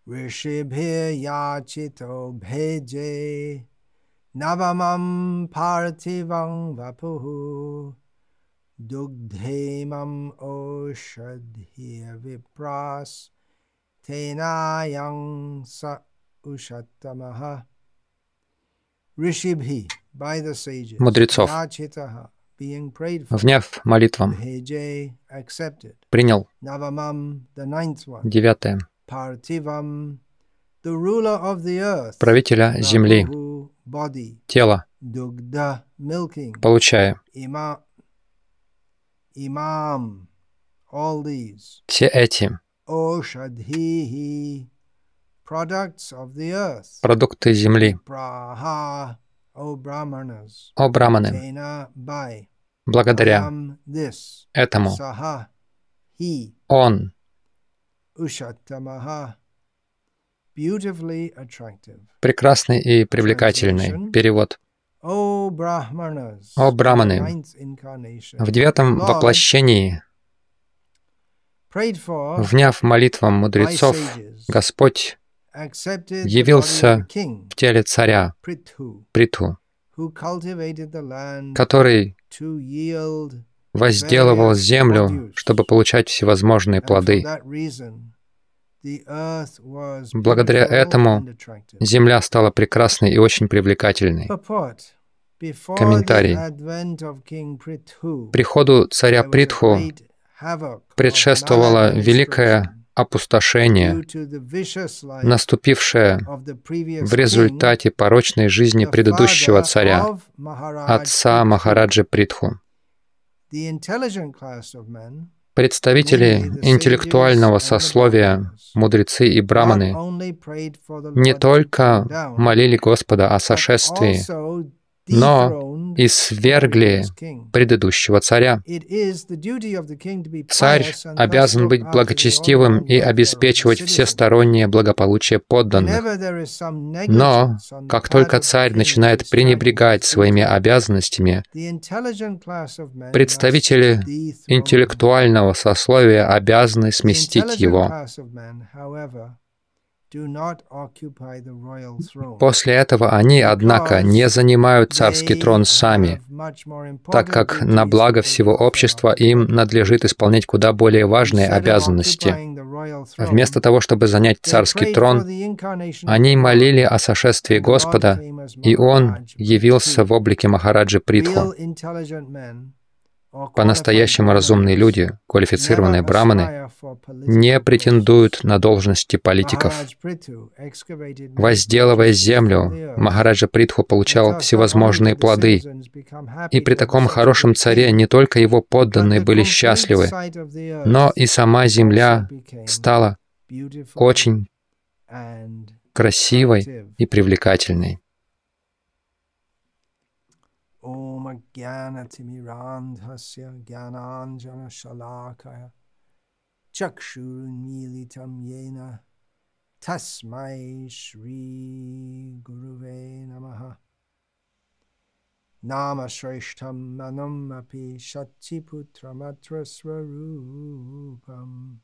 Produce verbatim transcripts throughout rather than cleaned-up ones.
Rishibhir yachito bheje navamam parthivam vapuhu dugdhemam oshadhir vipras tenayang sa ushattamaha. Rishibhi, by the sages, мудрецов, yachitaha, being prayed for, вняв молитвам, bheje, accepted, принял navamam, the ninth one, девятое parthivam, the ruler of the earth, правителя земли, vapuhu, body, тело, dugdha, milking, получая ima, imam, all these, все эти oshadhihi, products of the earth, продукты земли, praha, O brahmanas, о браманы, tena, by, благодаря ayam, this, этому saha, he, он ushattamaha, beautifully attractive. прекрасный и привлекательный. Перевод. O brahmanas, О in the браманы, ninth incarnation, в девятом Lord воплощении, prayed for вняв молитвам by мудрецов, sages, Господь accepted the body of the явился king, в теле царя Prithu, Притху, who cultivated the land который to yield, возделывал землю, чтобы получать всевозможные and for плоды. that reason, the earth was Благодаря beautiful этому and attractive. земля стала прекрасной и очень привлекательной. Purport. Before Комментарий. the advent of King Prithu, Приходу царя there was a Притху great havoc of предшествовало великое maladministration опустошение, due to the vicious life наступившее of the previous в king, результате порочной жизни the предыдущего father царя, of Maharaj отца Prithu. Махараджи Притху. The intelligent class of men, Представители интеллектуального сословия, мудрецы и not браманы, only prayed for the не Lord to только come down, молили Господа о but сошествии, also но dethroned и the свергли previous king. предыдущего царя. It is the duty of the king to be Царь pious and thus обязан look быть after the благочестивым all-round и welfare of the обеспечивать citizens. всестороннее благополучие подданных. Whenever there is some Но, negligence on the как part только of the царь king to начинает establish пренебрегать his своими duty, обязанностями, the intelligent class of men представители must dethrone him. интеллектуального сословия обязаны The сместить intelligent его. class of men, however, do not occupy the royal throne, После этого они, однако, не because занимают царский they трон сами, have much more так important как на duties благо for the всего welfare of общества the им body. надлежит исполнять куда более важные Instead of обязанности. occupying the royal throne, Вместо того, чтобы занять they царский prayed for трон, the incarnation of они the Lord, молили о сошествии and the Lord Господа, came as и Он Maharaj явился в Prithu. облике Махараджи Притху. Real intelligent men or qualified По-настоящему разумные brahmanas люди, never квалифицированные браманы, aspire for не political претендуют posts. на должности политиков. Maharaj Prithu excavated many Возделывая fruitful from the землю, earth, Махараджа Притху and получал thus not only всевозможные did the плоды, citizens become и happy при to have таком such a хорошем good царе king, не только его but подданные the были complete счастливы, sight of the но earth и сама also земля became стала beautiful очень and красивой attractive. и привлекательной. Om Ajnanatirmirandhasya Jnananjana Shalakaya Chakshurunmilitam Yena Tasmai Shri Guruve Namaha. Nama Shreshtam Manam Api Shatiputramatra Swarupam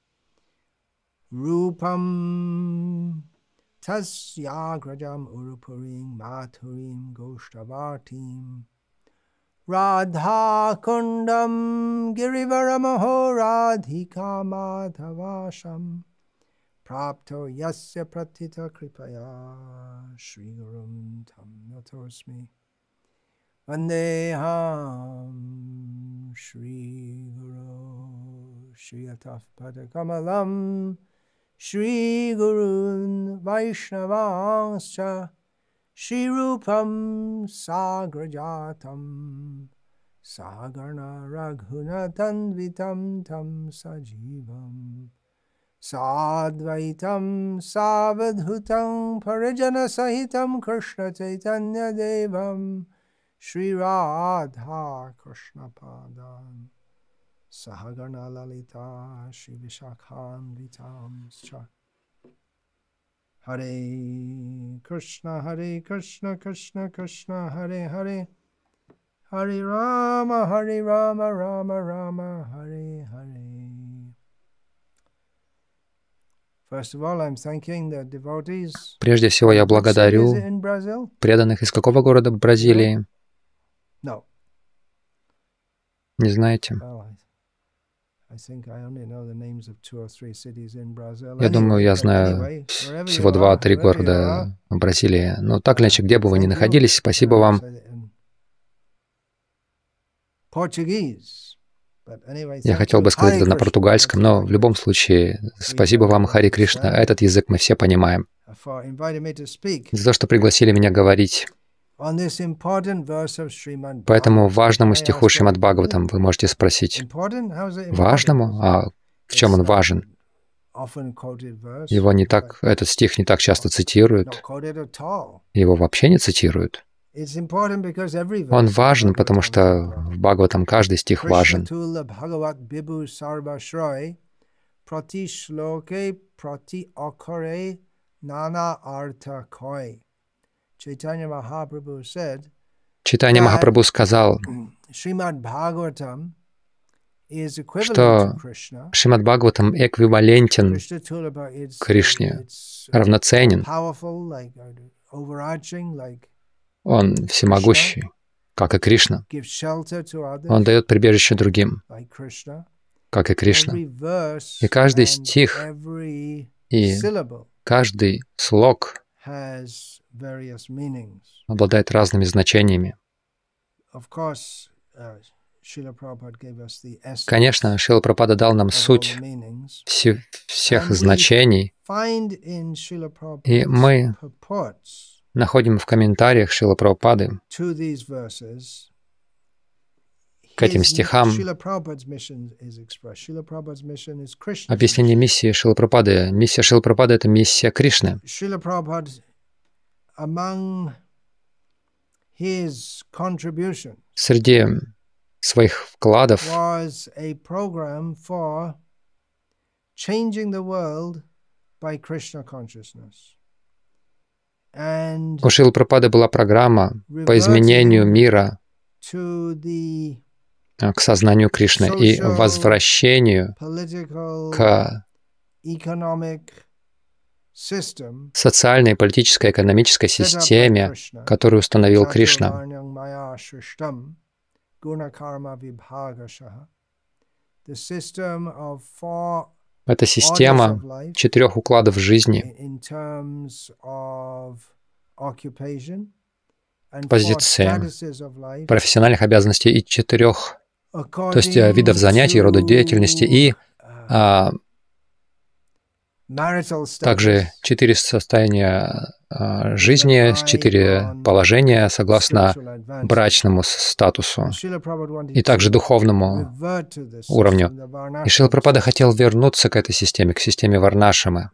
Rupam Tasyagrajam Urupurim Mathurim Goshtavartim Radha Kundam Girivaramaho Radhika Madhavasham Prapto Yasya Pratita Kripaya Shri Gurum Tam Natosmi Vandeham Shri Guru Shri Ataf Padakamalam Shri Gurun Vaishnavanscha Shri Rupam Sagrajatam Sagarna Raghunatanvitam Tam Sajivam Sadvaitam Savadhutam Parijana Sahitam Krishna Chaitanya Devam Shri Radha Krishna Padan Sahagarna Lalita Shri Vishakhan Vitam Cha Hare Krishna Hare Krishna Krishna Krishna Hare Hare Hare Rama Hare Rama Rama Rama Hare Hare. Прежде всего, я благодарю преданных из какого города Бразилии? Не знаете? Я думаю, я знаю всего два-три города в Бразилии. Но так или иначе, где бы вы ни находились, спасибо вам. Я хотел бы сказать это на португальском, но в любом случае, спасибо вам, Хари Кришна. Этот язык мы все понимаем. За то, что пригласили меня говорить по этому важному стиху Шримад Бхагаватам, вы можете спросить, важному? А в чем он важен? Его не так, этот стих не так часто цитируют. Его вообще не цитируют. Он важен, потому что в Бхагаватам каждый стих важен. Чайтанья Махапрабху сказал, что Шримад Бхагаватам эквивалентен Кришне, равноценен. Он всемогущий, как и Кришна. Он дает прибежище другим, как и Кришна. И каждый стих и каждый слог обладает разными значениями. Конечно, Шрила Прабхупада дал нам суть все, всех значений, и мы находим в комментариях Шрилы Прабхупады к этим стихам объяснение миссии Шрилы Прабхупады. Миссия Шрилы Прабхупады — это миссия Кришны. Среди своих вкладов у Шрилы Прабхупады была программа по изменению мира к сознанию Кришны и возвращению к социальной, политической, экономической системе, которую установил Кришна. Это система четырех укладов жизни, позиции, профессиональных обязанностей и четырех, то есть видов занятий, рода деятельности и а, также четыре состояния а, жизни, четыре положения согласно брачному статусу и также духовному уровню. И Шрила Прабхупада хотел вернуться к этой системе, к системе Варнашрамы.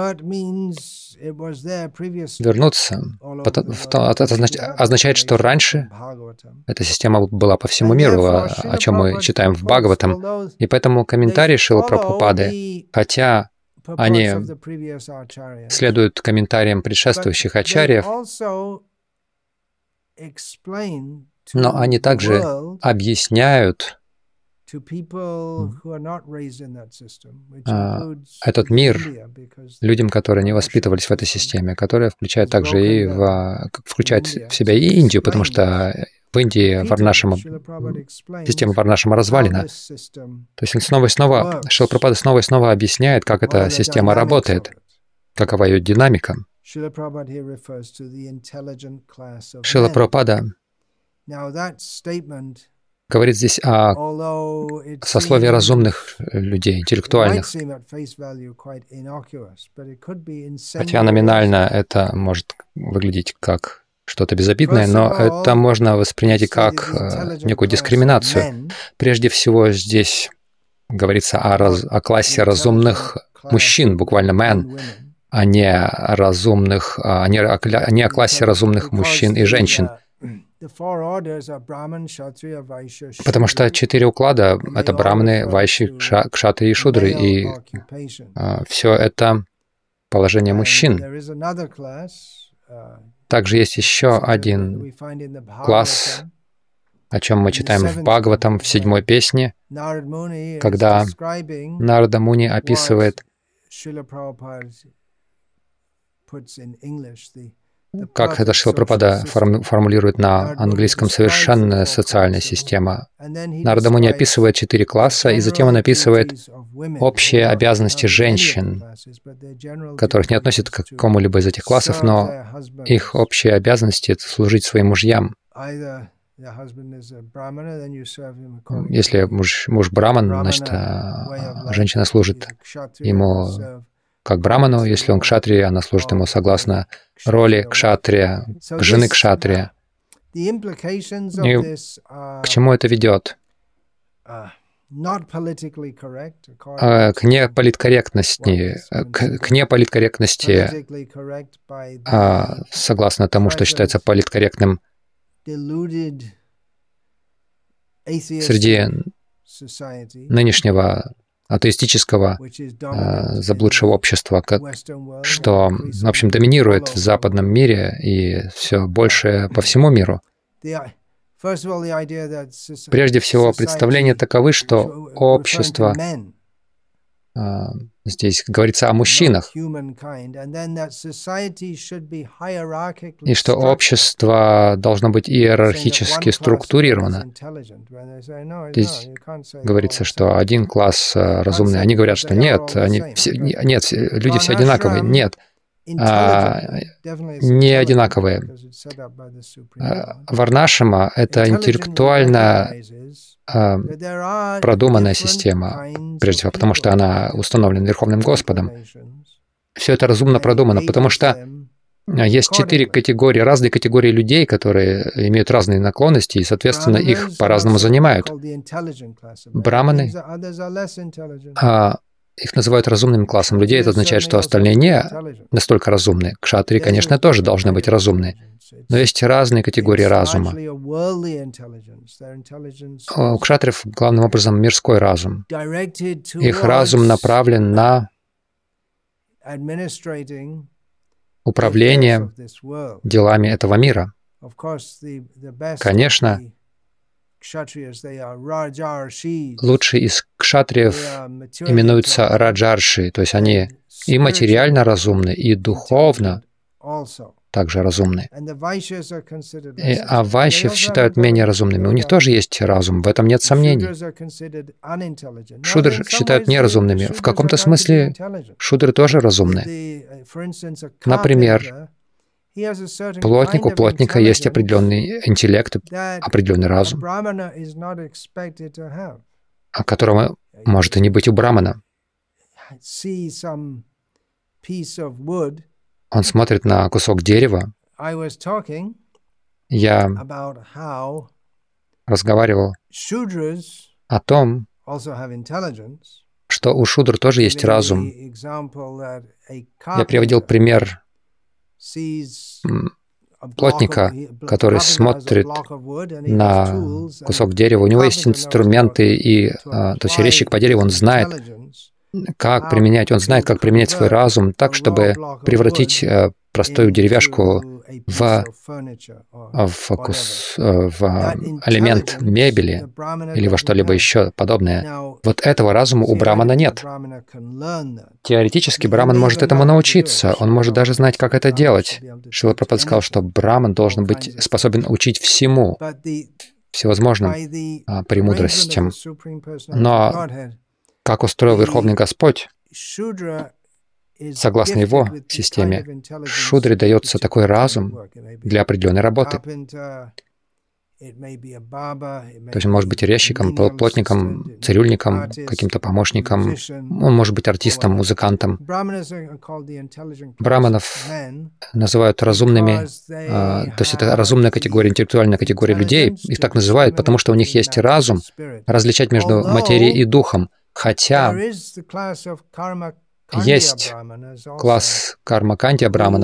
Вернуться это означает, что раньше эта система была по всему миру, о чем мы читаем в Бхагаватам. И поэтому комментарии Шрилы Прабхупады, хотя они следуют комментариям предшествующих ачарьев, но они также объясняют этот мир людям, которые не воспитывались в этой системе, которая включает также и в, включает в себя и Индию, потому что в Индии Варнашрама, система Варнашрама развалена. То есть он снова и снова, Шрила Прабхупада снова и снова объясняет, как эта система работает, какова ее динамика. Шрила Прабхупада говорит здесь о сословии разумных людей, интеллектуальных. Хотя номинально это может выглядеть как что-то безобидное, но это можно воспринять и как некую дискриминацию. Прежде всего, здесь говорится о, раз, о классе разумных мужчин, буквально «man», а не о разумных, а не, о, не о классе разумных мужчин и женщин. Потому что четыре уклада — это браманы, вайши, кшатрии и шудры, и а, все это положение мужчин. Также есть еще один класс, о чем мы читаем в Бхагаватам, в седьмой песне, когда Нарада Муни описывает как это Шрила Прабхупада формулирует на английском, совершенная социальная система. Нарада Муни описывает четыре класса, и затем он описывает общие обязанности женщин, которых не относят к какому-либо из этих классов, но их общие обязанности — это служить своим мужьям. Если муж, муж браман, значит, женщина служит ему как браману. Если он кшатрия, она служит ему согласно роли кшатрия, жены кшатрия. И к чему это ведет? К неполиткорректности, к, к неполиткорректности, а, согласно тому, что считается политкорректным среди нынешнего атеистического а, заблудшего общества, как, что, в общем, доминирует в западном мире и все больше по всему миру. Прежде всего, представления таковы, что общество, а, здесь говорится о мужчинах, и что общество должно быть иерархически структурировано. Здесь говорится, что один класс разумный. Они говорят, что нет, они все, нет, люди все одинаковые. Нет, а, не одинаковые. Варнашрама — это интеллектуально а, продуманная система, прежде всего, потому что она установлена Верховным Господом. Все это разумно продумано, потому что есть четыре категории, разные категории людей, которые имеют разные наклонности, и, соответственно, их по-разному занимают. Браманы, а, их называют разумным классом людей. Это означает, что остальные не настолько разумные. Кшатрии, конечно, тоже должны быть разумны. Но есть разные категории разума. У кшатриев главным образом мирской разум. Их разум направлен на управление делами этого мира. Конечно, лучшие из кшатриев именуются раджарши, то есть они и материально разумны, и духовно также разумны. И, а вайшьев считают менее разумными. У них тоже есть разум, в этом нет сомнений. Шудры считают неразумными. В каком-то смысле шудры тоже разумны. Например, плотник, у плотника есть определенный интеллект, определенный разум, о котором может и не быть у брамана. Он смотрит на кусок дерева. Я разговаривал о том, что у шудр тоже есть разум. Я приводил пример плотника, который смотрит на кусок дерева. У него есть инструменты, и, то есть резчик по дереву, он знает, как применять, он знает, как применять свой разум так, чтобы превратить простую деревяшку в, в, кус, в элемент мебели или во что-либо еще подобное. Вот этого разума у брамана нет. Теоретически браман может этому научиться, он может даже знать, как это делать. Шрила Прабхупада сказал, что браман должен быть способен учить всему, всевозможным а, премудростям. Но как устроил Верховный Господь, согласно его системе, шудре дается такой разум для определенной работы. То есть он может быть резчиком, плотником, цирюльником, каким-то помощником, он может быть артистом, музыкантом. Браманов называют разумными, то есть это разумная категория, интеллектуальная категория людей, их так называют, потому что у них есть разум различать между материей и духом. Хотя есть класс карма-кандия браманов,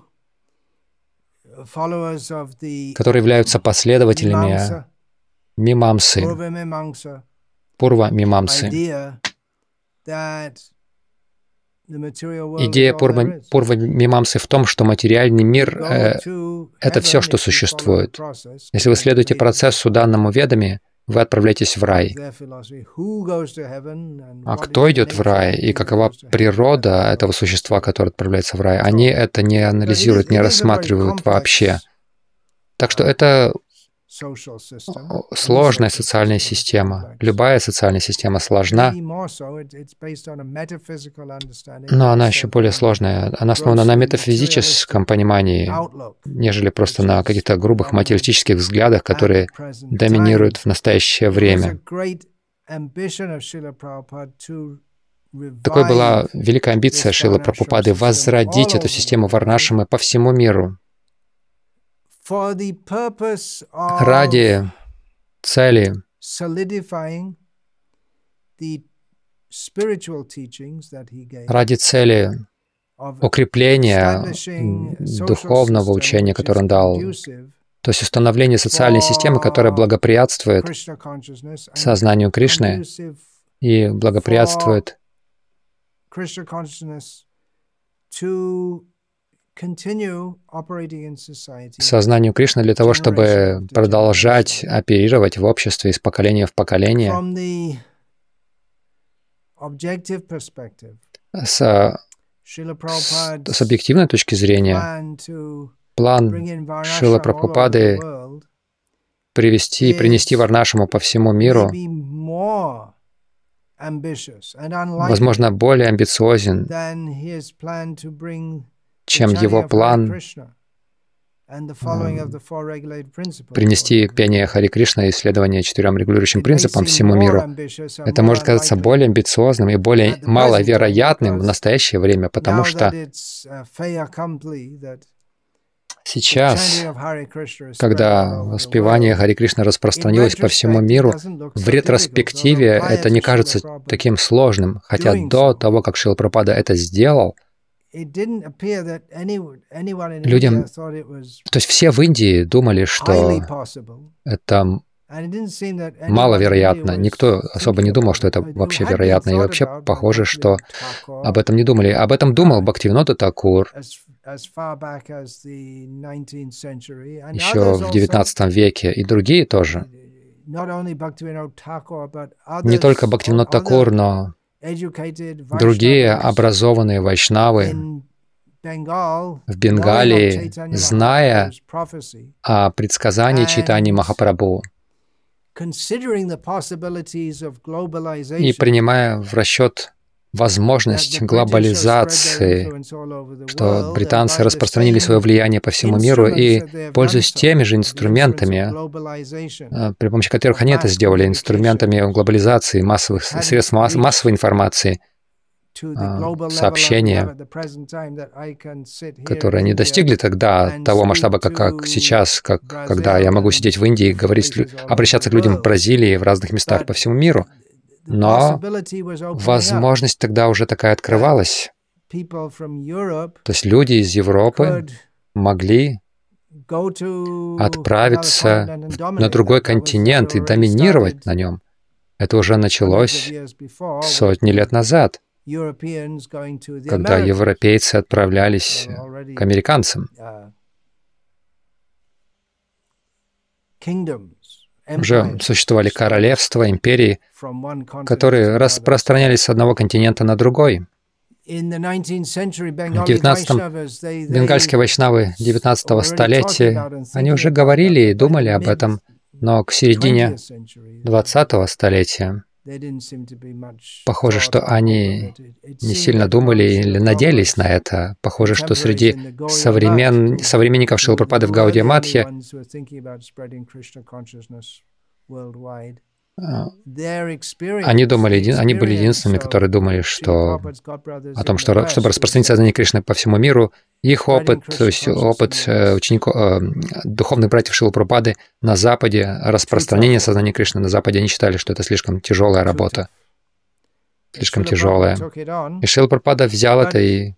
которые являются последователями мимамсы, пурва-мимамсы. Идея пурва-мимамсы в том, что материальный мир э, — это все, что существует. Если вы следуете процессу, данному ведами, вы отправляетесь в рай. А кто идет в рай и какова природа этого существа, которое отправляется в рай, они это не анализируют, не рассматривают вообще. Так что это сложная социальная система. Любая социальная система сложна, но она еще более сложная. Она основана на метафизическом понимании, нежели просто на каких-то грубых материалистических взглядах, которые доминируют в настоящее время. Такой была великая амбиция Шрилы Прабхупады — возродить эту систему Варнашрамы по всему миру. Ради цели ради цели укрепления духовного учения, которое он дал, то есть установления социальной системы, которая благоприятствует сознанию Кришны и благоприятствует сознанию Кришны для того, чтобы продолжать оперировать в обществе из поколения в поколение. С, с объективной точки зрения, план Шрилы Прабхупады привести, принести Варнашраму по всему миру, возможно, более амбициозен, чем его план принести пение Хари Кришна и исследование четырем регулирующим принципам всему миру. Это может казаться более амбициозным и более маловероятным в настоящее время, потому что сейчас, когда воспевание Хари Кришны распространилось по всему миру, в ретроспективе это не кажется таким сложным, хотя до того, как Шрила Прабхупада это сделал, людям, то есть все в Индии думали, что это маловероятно. Никто особо не думал, что это вообще вероятно. И вообще похоже, что об этом не думали. Об этом думал Бхактивинода Такур еще в девятнадцатом веке, и другие тоже. Не только Бхактивинод Такур, но другие образованные вайшнавы в Бенгалии, зная о предсказании Чайтаньи Махапрабху и принимая в расчет возможность глобализации, что британцы распространили свое влияние по всему миру и, пользуясь теми же инструментами, при помощи которых они это сделали, инструментами глобализации, массовых средств масс, массовой информации, сообщения, которые не достигли тогда того масштаба, как, как сейчас, как, когда я могу сидеть в Индии и говорить, обращаться к людям в Бразилии, в разных местах по всему миру. Но возможность тогда уже такая открывалась. То есть люди из Европы могли отправиться на другой континент и доминировать на нем. Это уже началось сотни лет назад, когда европейцы отправлялись к американцам. Уже существовали королевства, империи, которые распространялись с одного континента на другой. В девятнадцатом бенгальские вайшнавы девятнадцатого столетия, они уже говорили и думали об этом, но к середине двадцатого столетия похоже, что они не сильно думали или надеялись на это. Похоже, что среди современ... современников Шрилы Прабхупады в Гаудия Матхе они думали, они были единственными, которые думали, что о том, что чтобы распространить сознание Кришны по всему миру, их опыт, то есть опыт учеников, духовных братьев Шрилы Прабхупады на Западе, распространение сознания Кришны на Западе, они считали, что это слишком тяжелая работа, слишком тяжелая. И Шрила Прабхупада взял это и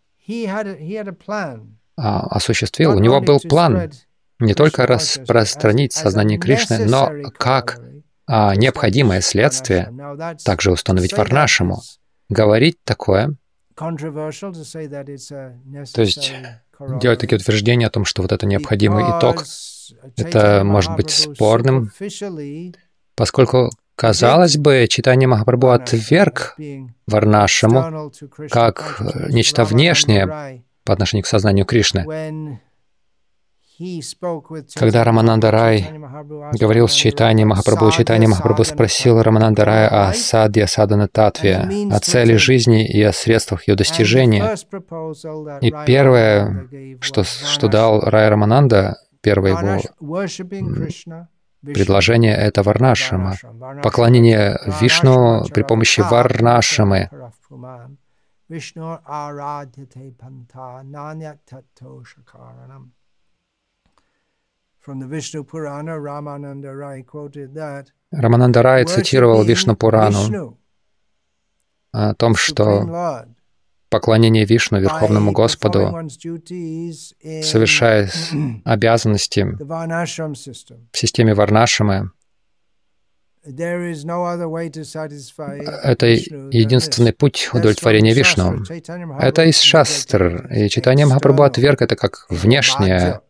осуществил. У него был план не только распространить сознание Кришны, но как а необходимое следствие также установить Варнашраму. Говорить такое, то есть делать такие утверждения о том, что вот это необходимый итог, это может быть спорным, Поскольку, казалось бы, читание Махапрабху отверг Варнашраму как нечто внешнее по отношению к сознанию Кришны. Когда Рамананда Рай говорил с Чайтаньей Махапрабху, Чайтанья Махапрабху спросил Рамананда Рая о садья садана татве, о цели жизни и о средствах ее достижения. И первое, что, что дал Рай Рамананда, первое его предложение — это Варнашрама, поклонение Вишну при помощи Варнашрамы. Рамананда Рай цитировал Вишну Пурану о том, что поклонение Вишну, Верховному Господу, совершая обязанности в системе Варнашрамы, это единственный путь удовлетворения Вишну. Это из шастр, и Чайтанья Махапрабху отверг это как внешнее.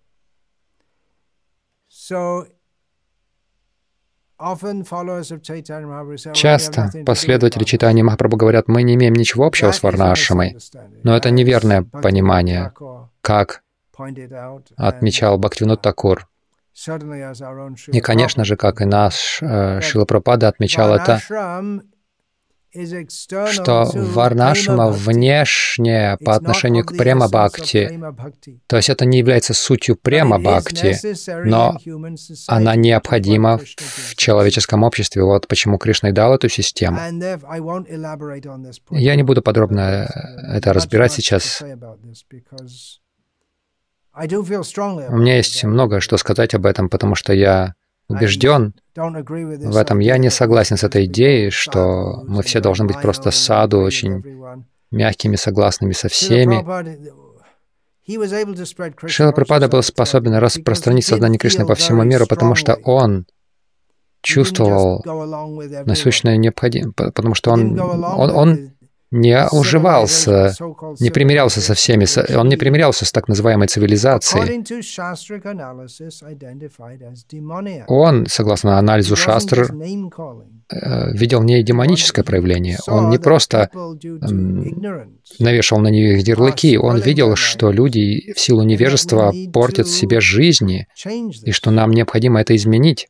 Часто последователи Чайтаньи Махапрабху говорят: мы не имеем ничего общего с Варнашрамой, но это неверное понимание, как отмечал Бхактивинода Такур. И, конечно же, как и наш э, Шрила Прабхупада отмечал это, что Варнашрама внешняя по отношению к Према-бхакти, то есть это не является сутью Према-бхакти, но она необходима в человеческом обществе. Вот почему Кришна и дал эту систему. Я не буду подробно это разбирать сейчас. У меня есть многое что сказать об этом, потому что я убежден в этом. Я не согласен с этой идеей, что мы все должны быть просто саду, очень мягкими, согласными со всеми. Шрила Прабхупада был способен распространить сознание Кришны по всему миру, потому что он чувствовал насущную необходимость, потому что он, он, он не уживался, не примирялся со всеми, он не примирялся с так называемой цивилизацией. Он, согласно анализу шастр, видел в ней демоническое проявление. Он не просто навешал на нее их ярлыки, он видел, что люди в силу невежества портят себе жизни, и что нам необходимо это изменить,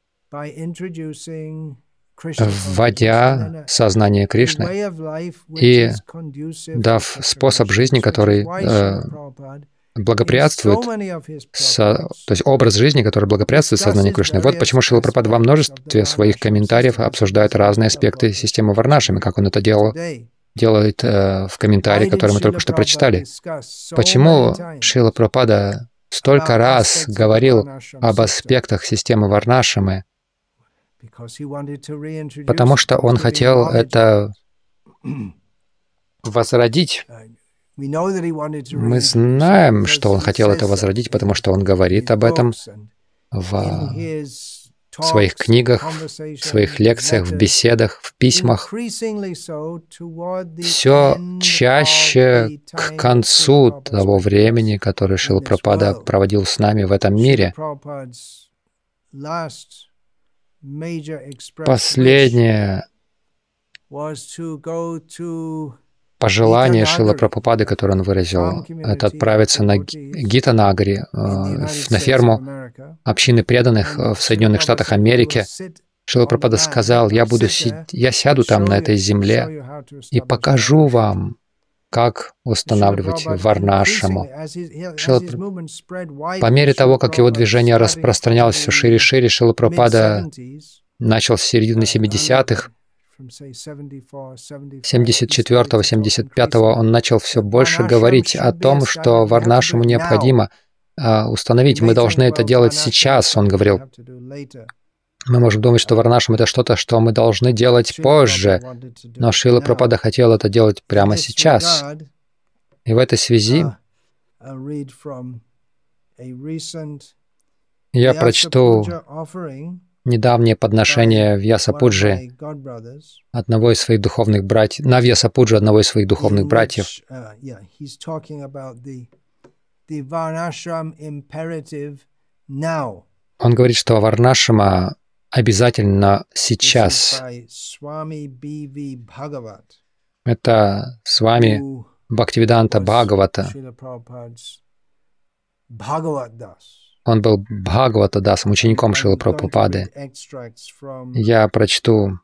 вводя сознание Кришны и дав способ жизни, который э, благоприятствует, со, то есть образ жизни, который благоприятствует сознанию Кришны. Вот почему Шрила Прабхупада во множестве своих комментариев обсуждает разные аспекты системы Варнашрами, как он это делал, делает э, в комментарии, который мы только что прочитали. Почему Шрила Прабхупада столько раз говорил об аспектах системы Варнашрамы? Потому что он хотел это возродить. Мы знаем, что он хотел это возродить, потому что он говорит об этом в своих книгах, в своих лекциях, в беседах, в письмах. Все чаще к концу того времени, которое Шрила Прабхупада проводил с нами в этом мире. Последнее пожелание Шрила Прабхупады, которое он выразил, это отправиться на Гитанагари, на ферму общины преданных в Соединенных Штатах Америки. Шрила Прабхупада сказал: я буду си... я сяду там на этой земле и покажу вам, как устанавливать Варнашраму. Шрила... По мере того, как его движение распространялось все шире и шире, Шрила Прабхупада начал с середины семидесятых, семьдесят четвёртого — семьдесят пятого он начал все больше говорить о том, что Варнашраму необходимо uh, установить. Мы должны это делать сейчас, он говорил. Мы можем думать, что Варнашрама — это что-то, что мы должны делать позже, но Шрила Прабхупада хотел это делать прямо сейчас. И в этой связи я прочту недавнее подношение Вьясапуджи одного из своих духовных братьев, на Вьясапуджи одного из своих духовных братьев. Он говорит, что Варнашрама обязательно сейчас. Это с вами Бхактивиданта Бхагавата. Он был Бхагавата-дасом, учеником Шрилы Прабхупады. Я прочту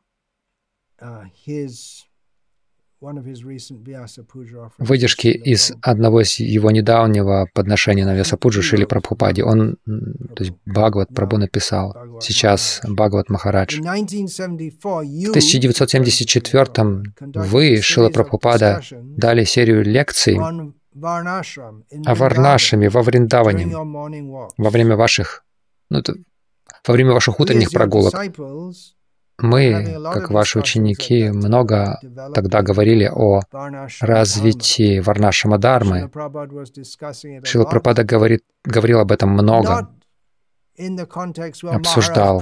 выдержки из одного из его недавнего подношения на Вьясапуджу Шриле Прабхупаде. Он, то есть Бхагават Прабху написал, сейчас Бхагават Махарадж. В тысяча девятьсот семьдесят четвёртом вы, Шрила Прабхупада, дали серию лекций о Варнашраме во Вриндаване во время ваших, ну, это, во время ваших утренних прогулок. Мы, как ваши ученики, много тогда говорили о развитии Варнашрама-дхармы. Шрила Прабхупада говорит, говорил об этом много, обсуждал.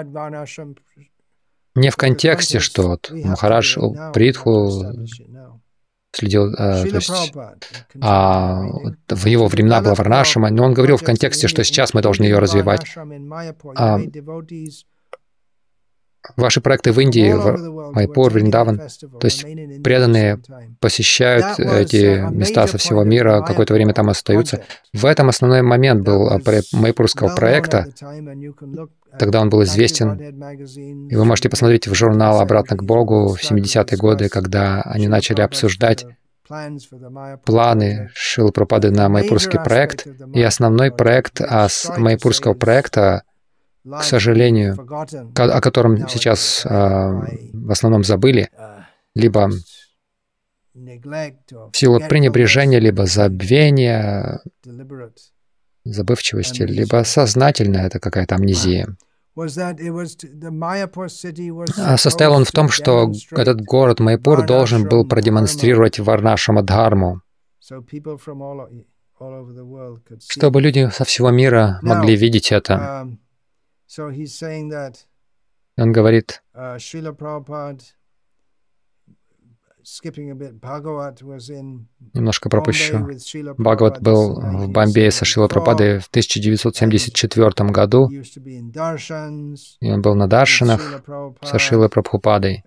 Не в контексте, что вот Махарадж Притху следил, а, то есть, а, в его времена была Варнашрама, но он говорил в контексте, что сейчас мы должны ее развивать. А, Ваши проекты в Индии, в Майпур, Вриндаван, то есть преданные посещают эти места со всего мира, какое-то время там остаются. В этом основной момент был майпурского проекта. Тогда он был известен. И вы можете посмотреть в журнал «Обратно к Богу» в семидесятые годы, когда они начали обсуждать планы Шрилы Прабхупады на майпурский проект. И основной проект майпурского проекта, к сожалению, о котором сейчас э, в основном забыли, либо в силу пренебрежения, либо забвения, забывчивости, либо сознательная это какая-то амнезия. Состоял он в том, что этот город Майпур должен был продемонстрировать Варнашрама-дхарму, чтобы люди со всего мира могли видеть это. Он говорит, немножко пропущу. Бхагават был в Бомбее со Шрилой Прабхупадой в тысяча девятьсот семьдесят четвёртом году, и он был на даршанах со Шрилой Прабхупадой.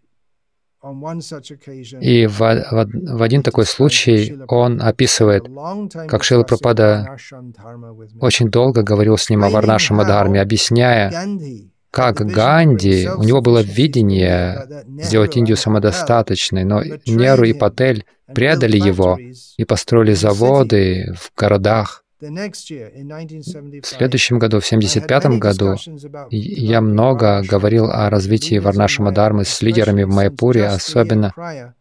И в, в, в один такой случай он описывает, как Шрила Прабхупада очень долго говорил с ним о Варнашрама-дхарме, объясняя, как Ганди, у него было видение сделать Индию самодостаточной, но Неру и Патель предали его и построили заводы в городах. В следующем году, в семьдесят пятом году, я много говорил о развитии Варнашрама-дхармы с лидерами в Майпуре, особенно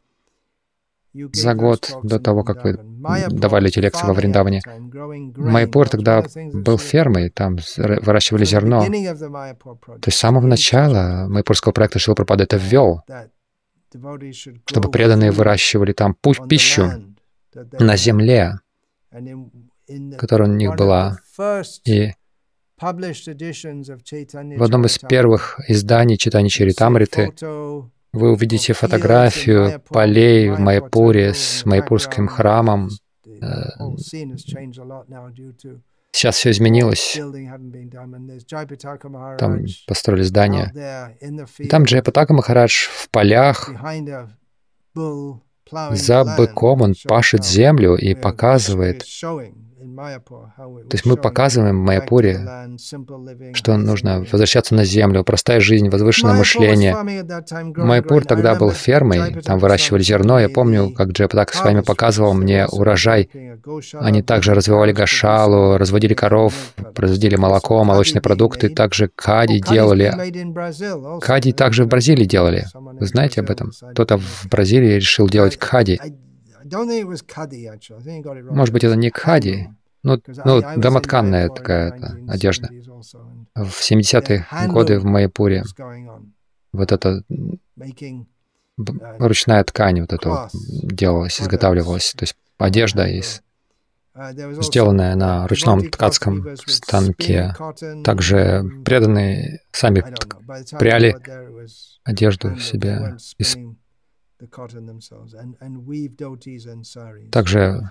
за год до того, как вы давали эти лекции во Вриндаване. Майпур тогда был фермой, там выращивали зерно. То есть с самого начала майпурского проекта Шрила Прабхупада это ввел, чтобы преданные выращивали там пищу на земле, которая у них была. И в одном из первых изданий Чайтанья Чаритамриты вы увидите фотографию полей в Майпуре с майпурским храмом. Сейчас все изменилось. Там построили здания. И там Джайапатака Махарадж в полях за быком, он пашет землю и показывает. То есть мы показываем в Майяпуре, что нужно возвращаться на землю, простая жизнь, возвышенное мышление. Майяпур тогда был фермой, там выращивали зерно. Я помню, как Джайапатака с вами показывал мне урожай. Они также развивали гошалу, разводили коров, производили молоко, молочные продукты, также кади делали. Кади также в Бразилии делали. Вы знаете об этом? Кто-то в Бразилии решил делать кади. Может быть, это не кади, но ну, домотканная такая одежда. В семидесятые годы в Майяпуре вот эта ручная ткань вот эта вот делалась, изготавливалась. То есть одежда из, сделанная на ручном ткацком станке. Также преданные сами пряли одежду себе из. Также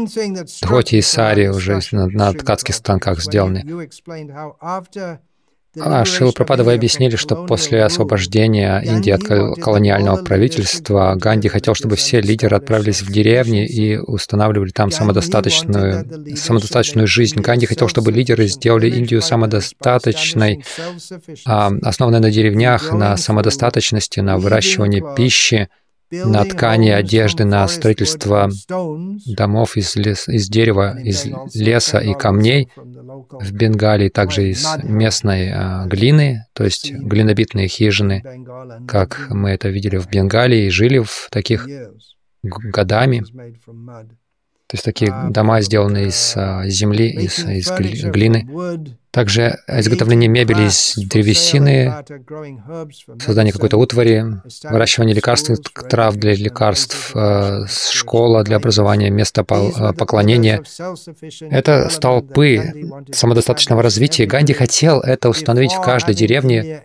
дхоти и сари уже на, на ткацких станках сделаны. А, Шрила Прабхупада, вы объяснили, что после освобождения Индии от колониального правительства Ганди хотел, чтобы все лидеры отправились в деревни и устанавливали там самодостаточную, самодостаточную жизнь. Ганди хотел, чтобы лидеры сделали Индию самодостаточной, основанной на деревнях, на самодостаточности, на выращивании пищи, на ткани одежды, на строительство домов из, лес, из дерева, из леса и камней в Бенгалии, также из местной а, глины, то есть глинобитные хижины, как мы это видели в Бенгалии, и жили в таких годами. То есть такие дома, сделанные из а, земли, из, из глины. Также изготовление мебели из древесины, создание какой-то утвари, выращивание лекарственных трав для лекарств, школа для образования, место поклонения. Это столпы самодостаточного развития. Ганди хотел это установить в каждой деревне,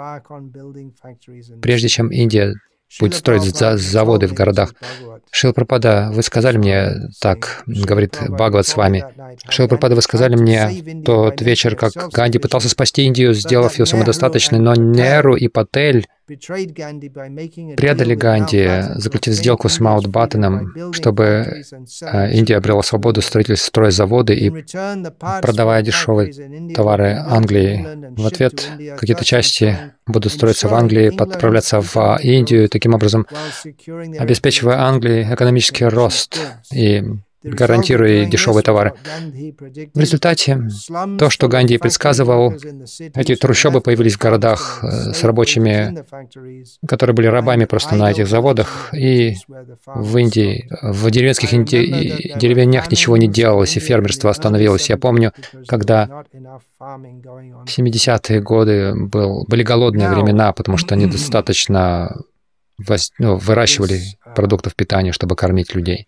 прежде чем Индия будет строить заводы в городах. Шрила Прабхупада, вы сказали мне, так говорит Бхагават с вами, Шрила Прабхупада, вы сказали мне тот вечер, как Ганди пытался спасти Индию, сделав ее самодостаточной, но Неру и Патель предали Ганди, заключив сделку с Маунтбаттеном, чтобы Индия обрела свободу строить стройзаводы и продавая дешевые товары Англии. В ответ какие-то части будут строиться в Англии, отправляться в Индию, таким образом обеспечивая Англии экономический рост и гарантируя дешевые товары. В результате то, что Ганди предсказывал, эти трущобы появились в городах с рабочими, которые были рабами просто на этих заводах, и в Индии, в деревенских инди... деревнях ничего не делалось, и фермерство остановилось. Я помню, когда в семидесятые годы был, были голодные времена, потому что недостаточно воз... ну, выращивали продуктов питания, чтобы кормить людей.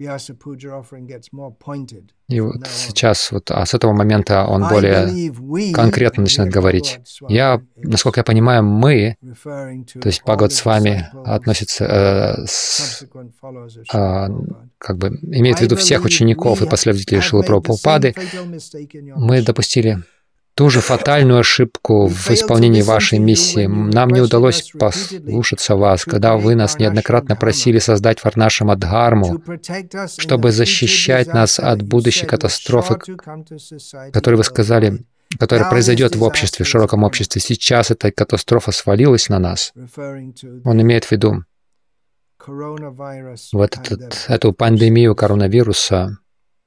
И вот сейчас, вот, а с этого момента он более конкретно начинает говорить. Я, насколько я понимаю, мы, то есть Бхагават с вами относится, э, с, э, как бы имеет в виду всех учеников и последователей Шрилы Прабхупады, мы допустили ту же фатальную ошибку в исполнении вашей миссии. Нам не удалось послушаться вас, когда вы нас неоднократно просили создать Варнашрама-дхарму, чтобы защищать нас от будущей катастрофы, которую вы сказали, которая произойдет в обществе, в широком обществе. Сейчас эта катастрофа свалилась на нас. Он имеет в виду вот этот, эту пандемию коронавируса.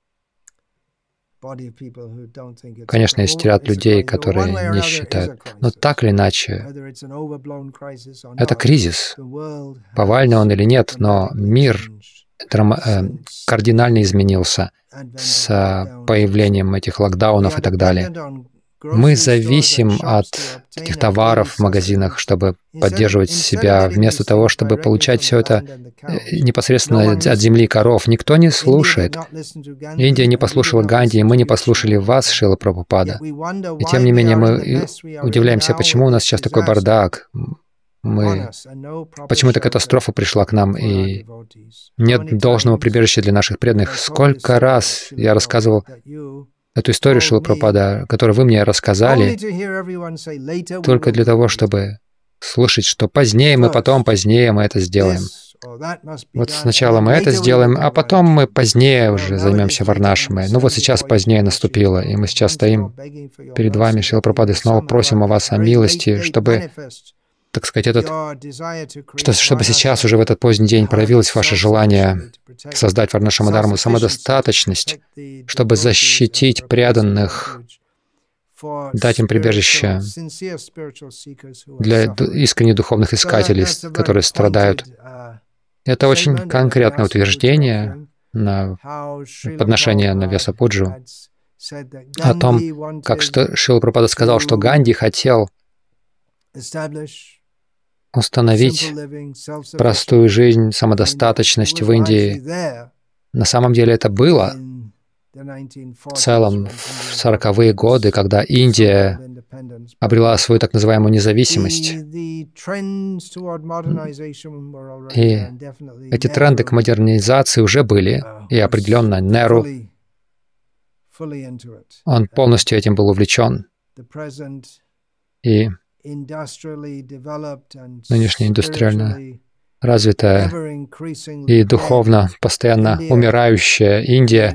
Конечно, есть ряд людей, которые не считают. Но так или иначе, это кризис. Повальный он или нет, но мир драма- э, кардинально изменился с появлением этих локдаунов и так далее. Мы зависим от этих товаров в магазинах, чтобы поддерживать себя, вместо того, чтобы получать все это непосредственно от земли коров. Никто не слушает. Индия не послушала Ганди, и мы не послушали вас, Шрила Прабхупада. И тем не менее мы удивляемся, почему у нас сейчас такой бардак. Мы... Почему эта катастрофа пришла к нам, и нет должного прибежища для наших преданных. Сколько раз я рассказывал эту историю, Шрила Прабхупада, которую вы мне рассказали, только для того, чтобы слышать, что позднее мы, потом позднее мы это сделаем. Вот сначала мы это сделаем, а потом мы позднее уже займемся Варнашрамой. Ну вот сейчас позднее наступило, и мы сейчас стоим перед вами, Шрила Прабхупада, и снова просим о вас о милости, чтобы, так сказать, этот, что, чтобы сейчас уже в этот поздний день проявилось ваше желание создать Варнашрама-дхарму, самодостаточность, чтобы защитить преданных, дать им прибежище для искренне духовных искателей, которые страдают. Это очень конкретное утверждение на подношение на Вьясапуджу о том, как что Шрила Прабхупада сказал, что Ганди хотел установить простую жизнь, самодостаточность в Индии. На самом деле это было в целом в сороковые годы, когда Индия обрела свою так называемую независимость. И эти тренды к модернизации уже были, и определенно Неру, он полностью этим был увлечен. И нынешняя индустриально развитая и духовно постоянно умирающая Индия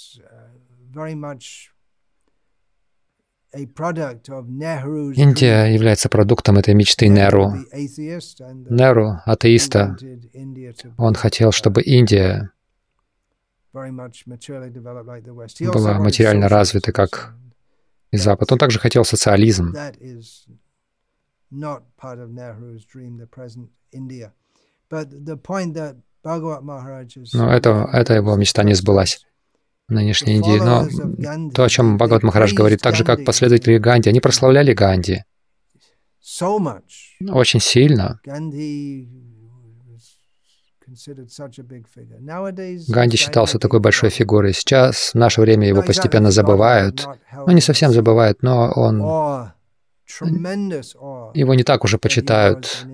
Индия является продуктом этой мечты Неру. Неру, атеиста, он хотел, чтобы Индия была материально развитой, как и Запад. Он также хотел социализм. Но это, это его мечта не сбылась в нынешней Индии. Но то, о чем Бхагават Махарадж говорит, так же, как последователи Ганди, они прославляли Ганди очень сильно. Ганди считался такой большой фигурой. Сейчас, в наше время, его постепенно забывают. Ну, не совсем забывают, но он... Его не так уже почитают,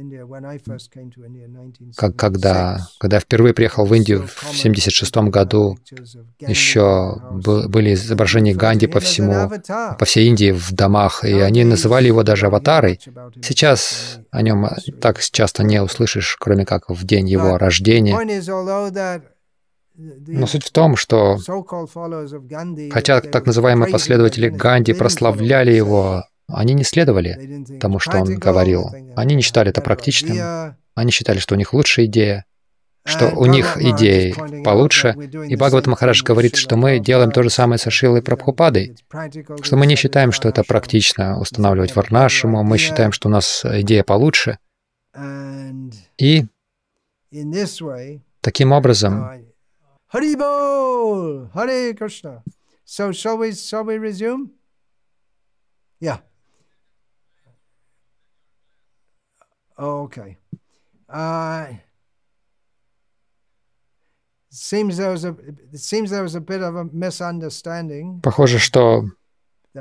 как когда, когда я впервые приехал в Индию в семьдесят шестом году. Еще были изображения Ганди по всему, по всей Индии в домах, и они называли его даже аватарой. Сейчас о нем так часто не услышишь, кроме как в день его рождения. Но суть в том, что хотя так называемые последователи Ганди прославляли его, они не следовали тому, что он говорил. Они не считали это практичным. Они считали, что у них лучшая идея, что у них идеи получше. И Бхагават Махарадж говорит, что мы делаем то же самое со Шрилой Прабхупадой, что мы не считаем, что это практично устанавливать варнашраму, мы считаем, что у нас идея получше. И таким образом... Харибол! Харе Кришна! So shall we, shall we resume? Yeah. Okay. Uh, seems there was a it seems there was a bit of a misunderstanding. Похоже, что у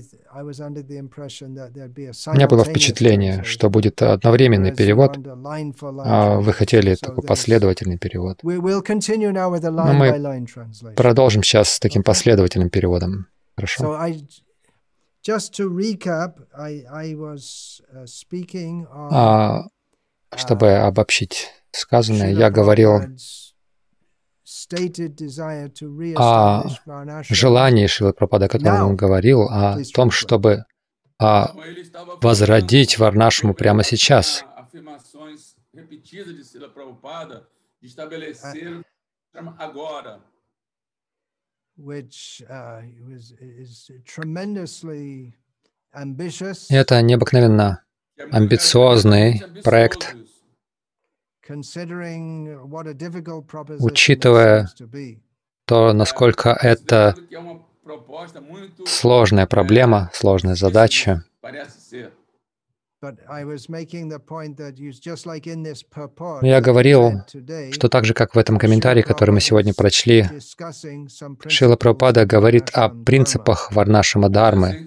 меня было впечатление, что будет одновременный перевод, а вы хотели такой последовательный перевод. Но мы продолжим сейчас с таким последовательным переводом. Хорошо? А, чтобы обобщить сказанное, я говорил о желании Шрилы Прабхупады, о котором он говорил, о том, чтобы а, возродить варнашраму прямо сейчас. Это необыкновенно амбициозный проект, учитывая то, насколько это сложная проблема, сложная задача. Я говорил, что так же, как в этом комментарии, который мы сегодня прочли, Шрила Прабхупада говорит о принципах варнашрама дхармы.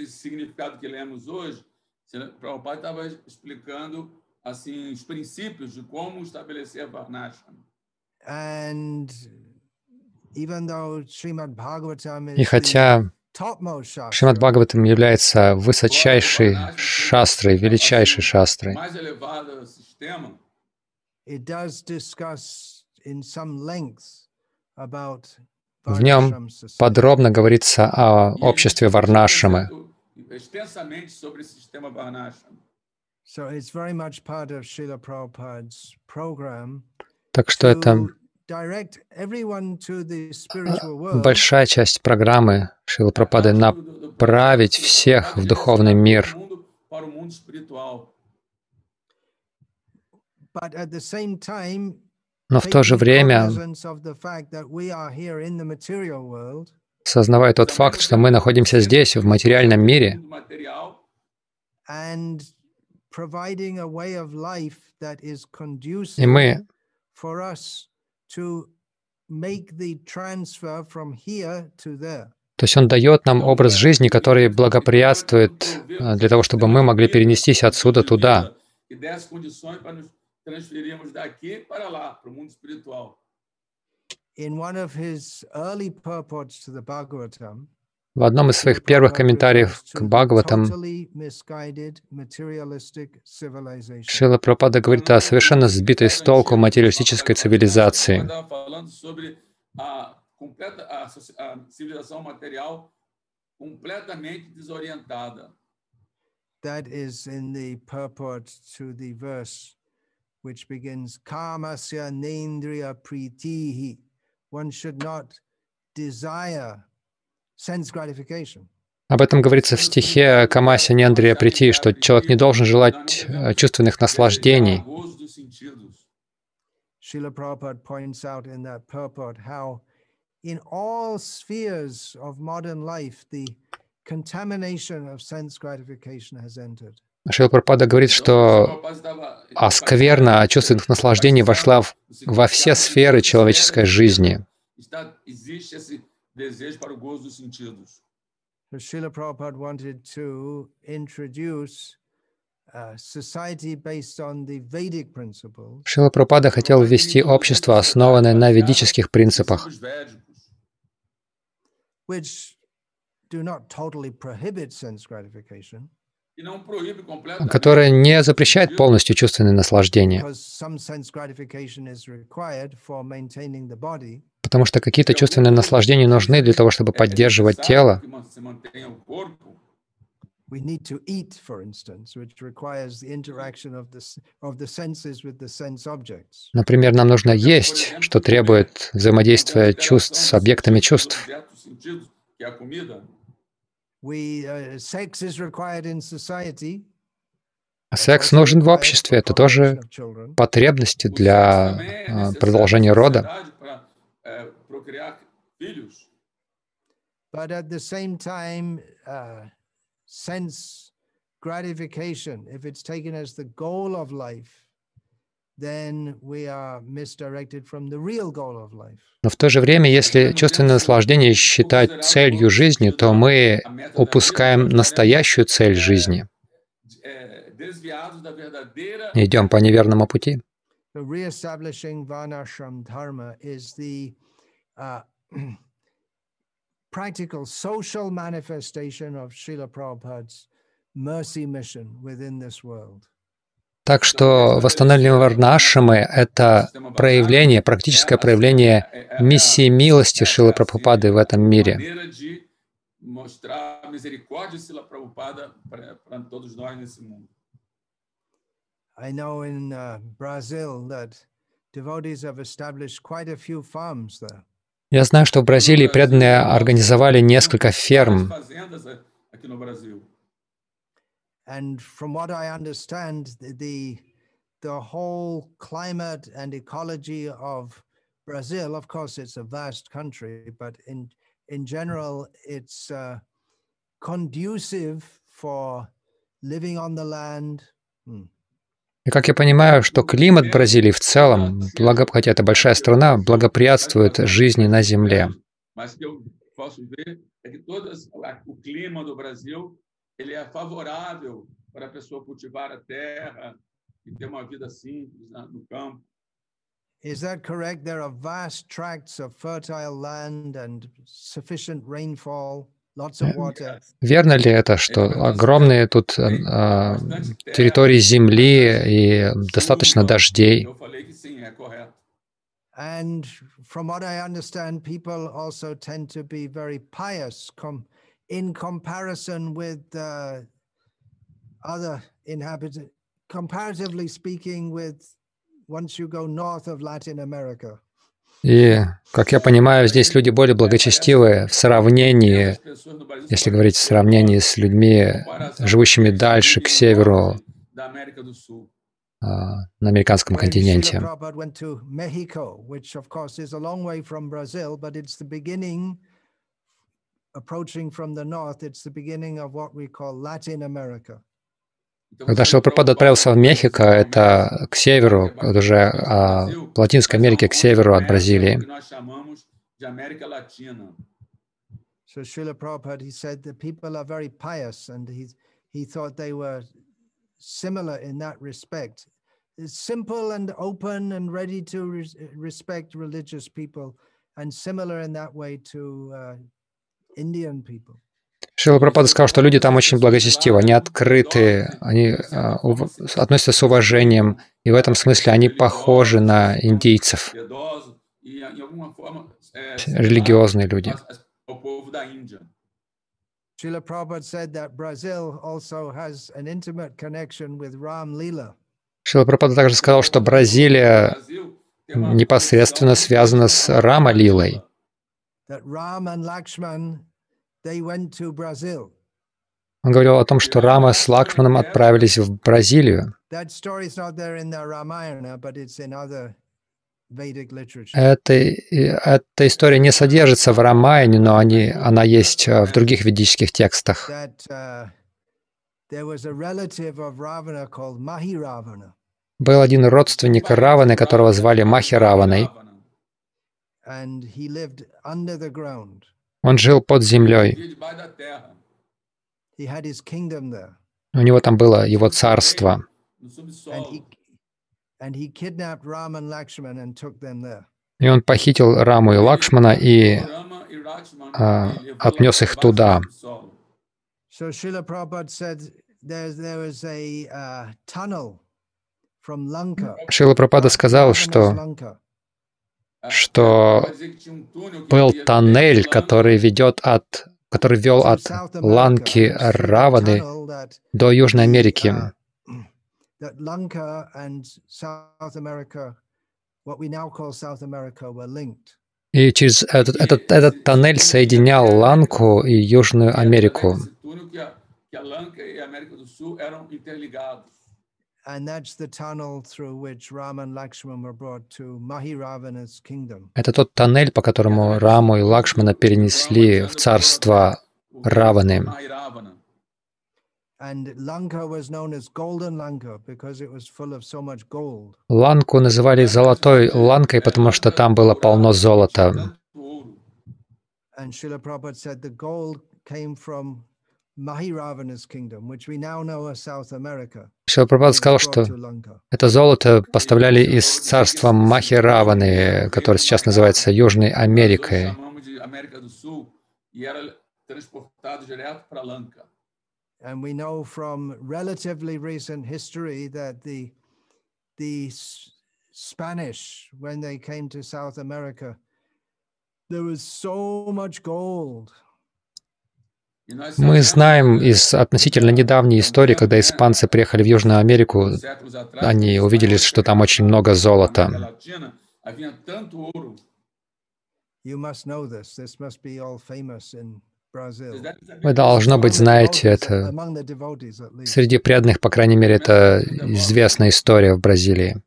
Assim, os princípios de como estabelecer Varnashram. И хотя Шримад Бхагаватам является высочайшей шастрой, величайшей шастрой, в нем подробно говорится о обществе Варнашрамы. Так что это большая часть программы Шрилы Прабхупады — направить всех в духовный мир. Но в то же время, сознавая тот факт, что мы находимся здесь, в материальном мире, и мы то есть Он дает нам образ жизни, который благоприятствует для того, чтобы мы могли перенестись отсюда туда. В одном из своих первых комментариев к Бхагаватам Шрила Прабхупада говорит о совершенно сбитой с толку материалистической цивилизации. That is in the purport to the verse which begins Kamasya Nendriya Pritihi. One should not desire sense gratification. Об этом говорится в стихе Камаси Нендрия Прити, что человек не должен желать чувственных наслаждений. Srila Prabhupada points out in that purport how in all spheres of modern life the contamination of sense gratification has entered. Шрила Прабхупада говорит, что оскверна чувственных наслаждений вошла в, во все сферы человеческой жизни. Srila Prabhupada wanted to introduce a society based on the Vedic principles. Шрила Прабхупада хотел ввести общество, основанное на ведических принципах, which do not totally prohibit sense gratification, которое не запрещает полностью чувственные наслаждения, because some sense gratification is required for maintaining the body. потому что какие-то чувственные наслаждения нужны для того, чтобы поддерживать тело. We need to eat, for instance, which requires the interaction of the of the senses with the sense objects. Например, нам нужно есть, что требует взаимодействия чувств с объектами чувств. We, uh, sex is required in society. Секс нужен в обществе, это тоже потребности для uh, продолжения рода. But at the same time, uh, sense gratification, if it's taken as the goal of life, then we are misdirected from the real goal of life. Но в то же время, если чувственное наслаждение считать целью жизни, то мы упускаем настоящую цель жизни. Идем по неверному пути. So reestablishing Varnashram Dharma is the uh, practical social manifestation of Srila Prabhupada's mercy mission within this world. Так что восстановление Варнашрамы — это проявление, практическое проявление миссии милости Шрилы Прабхупады в этом мире. I know in uh, Brazil that devotees have established quite a few farms there. Я знаю, что в Бразилии преданные организовали несколько ферм. And from what I understand, the the whole climate and ecology of Brazil, of course, it's a vast country, but in in general, it's uh, conducive for living on the land. Hmm. И как я понимаю, что климат Бразилии в целом, благо, хотя это большая страна, благоприятствует жизни на земле. Ele é favorável para a pessoa cultivar a terra e ter uma vida simples no campo. Is that correct? There are vast tracts of fertile land and sufficient rainfall, lots of water. Верно ли это, что огромные тут э, территории земли и достаточно дождей? Eu falei que sim, é correto. And from what I understand, people also tend to be very pious com in comparison with uh, other inhabitants, comparatively speaking, with once you go north of Latin America. И, как я понимаю, здесь люди более благочестивые в сравнении, если говорить в сравнении с людьми, живущими дальше, к северу, на американском континенте. Когда Шрила Прабхупада отправился в Мехико, это к северу, это уже а, в Латинской Америке, к северу от Бразилии. So Srila Prabhupada, he said that people are very pious, and he he thought they were similar in that respect. Simple and open and ready to re respect religious people, and similar in that way to uh, Indian people. Шрила Прабхупада сказал, что люди там очень благочестивы, они открыты, они а, ув... относятся с уважением, и в этом смысле они похожи на индейцев, религиозные люди. Srila Prabhupada said that Brazil also has an intimate connection with Ram Lila. Шрила Прабхупада также сказал, что Бразилия непосредственно связана с Рама-лилой. That Ram and Lakshman, they went to Brazil. Он говорил о том, что Рама с Лакшманом отправились в Бразилию. That story is not there in the Ramayana, but it's in other Vedic literature. Эта, эта история не содержится в Рамаяне, но они, она есть в других ведических текстах. That uh, there was a relative of Ravana called Mahiravana. Был один родственник Раваны, которого звали Махираваной. And he lived under the ground. Он жил под землей. He had his kingdom there. У него там было его царство. And he, and he kidnapped Ram and Lakshman and took them there. И он похитил Раму и Лакшмана и а, отнес их туда. So Srila Prabhupada said there, there was a uh, tunnel from Lanka. Шрила Прабхупада сказал, что, что был тоннель, который ведет от, который вел от Ланки Раваны до Южной Америки. That Lanka and South America, what we now call South America, were linked. И через этот, этот, этот тоннель соединял Ланку и Южную Америку. And that's the tunnel through which Ram and Lakshman were brought to Mahiravana's kingdom. Это тот тоннель, по которому Раму и Лакшмана перенесли в царство Раваны. And Lanka was known as Golden Lanka because it was full of so much gold. Ланку называли золотой Ланкой, потому что там было полно золота. And Srila Prabhupada said the gold came from Mahiravana's kingdom, which we now know as South America. Шрила Прабхупада сказал, что это золото поставляли из царства Махираваны, которое сейчас называется Южной Америкой. And we know from relatively recent history that the the Spanish, when they came to South America, there was so much gold. Мы знаем из относительно недавней истории, когда испанцы приехали в Южную Америку, они увидели, что там очень много золота. You must know this. This must be all famous in Brazil. Вы, должно быть, знаете это. Среди преданных, по крайней мере, это известная история в Бразилии.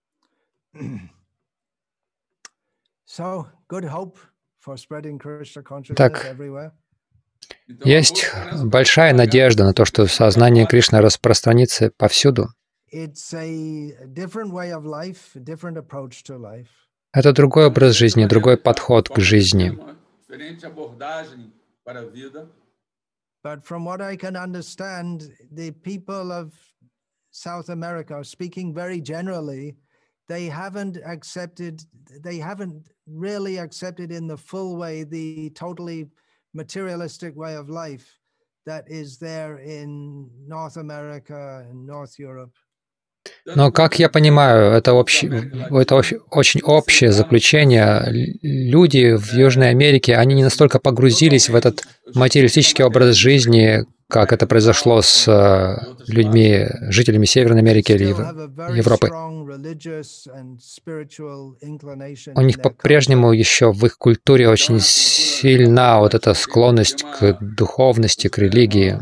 Так, есть большая надежда на то, что сознание Кришны распространится повсюду. Это другой образ жизни, другой подход к жизни. But from what I can understand, the people of South America, speaking very generally, they haven't accepted, they haven't really accepted in the full way the totally materialistic way of life that is there in North America and North Europe. Но, как я понимаю, это, общ... это очень общее заключение. Люди в Южной Америке, они не настолько погрузились в этот материалистический образ жизни, как это произошло с людьми, жителями Северной Америки или Европы. У них по-прежнему еще в их культуре очень сильна вот эта склонность к духовности, к религии.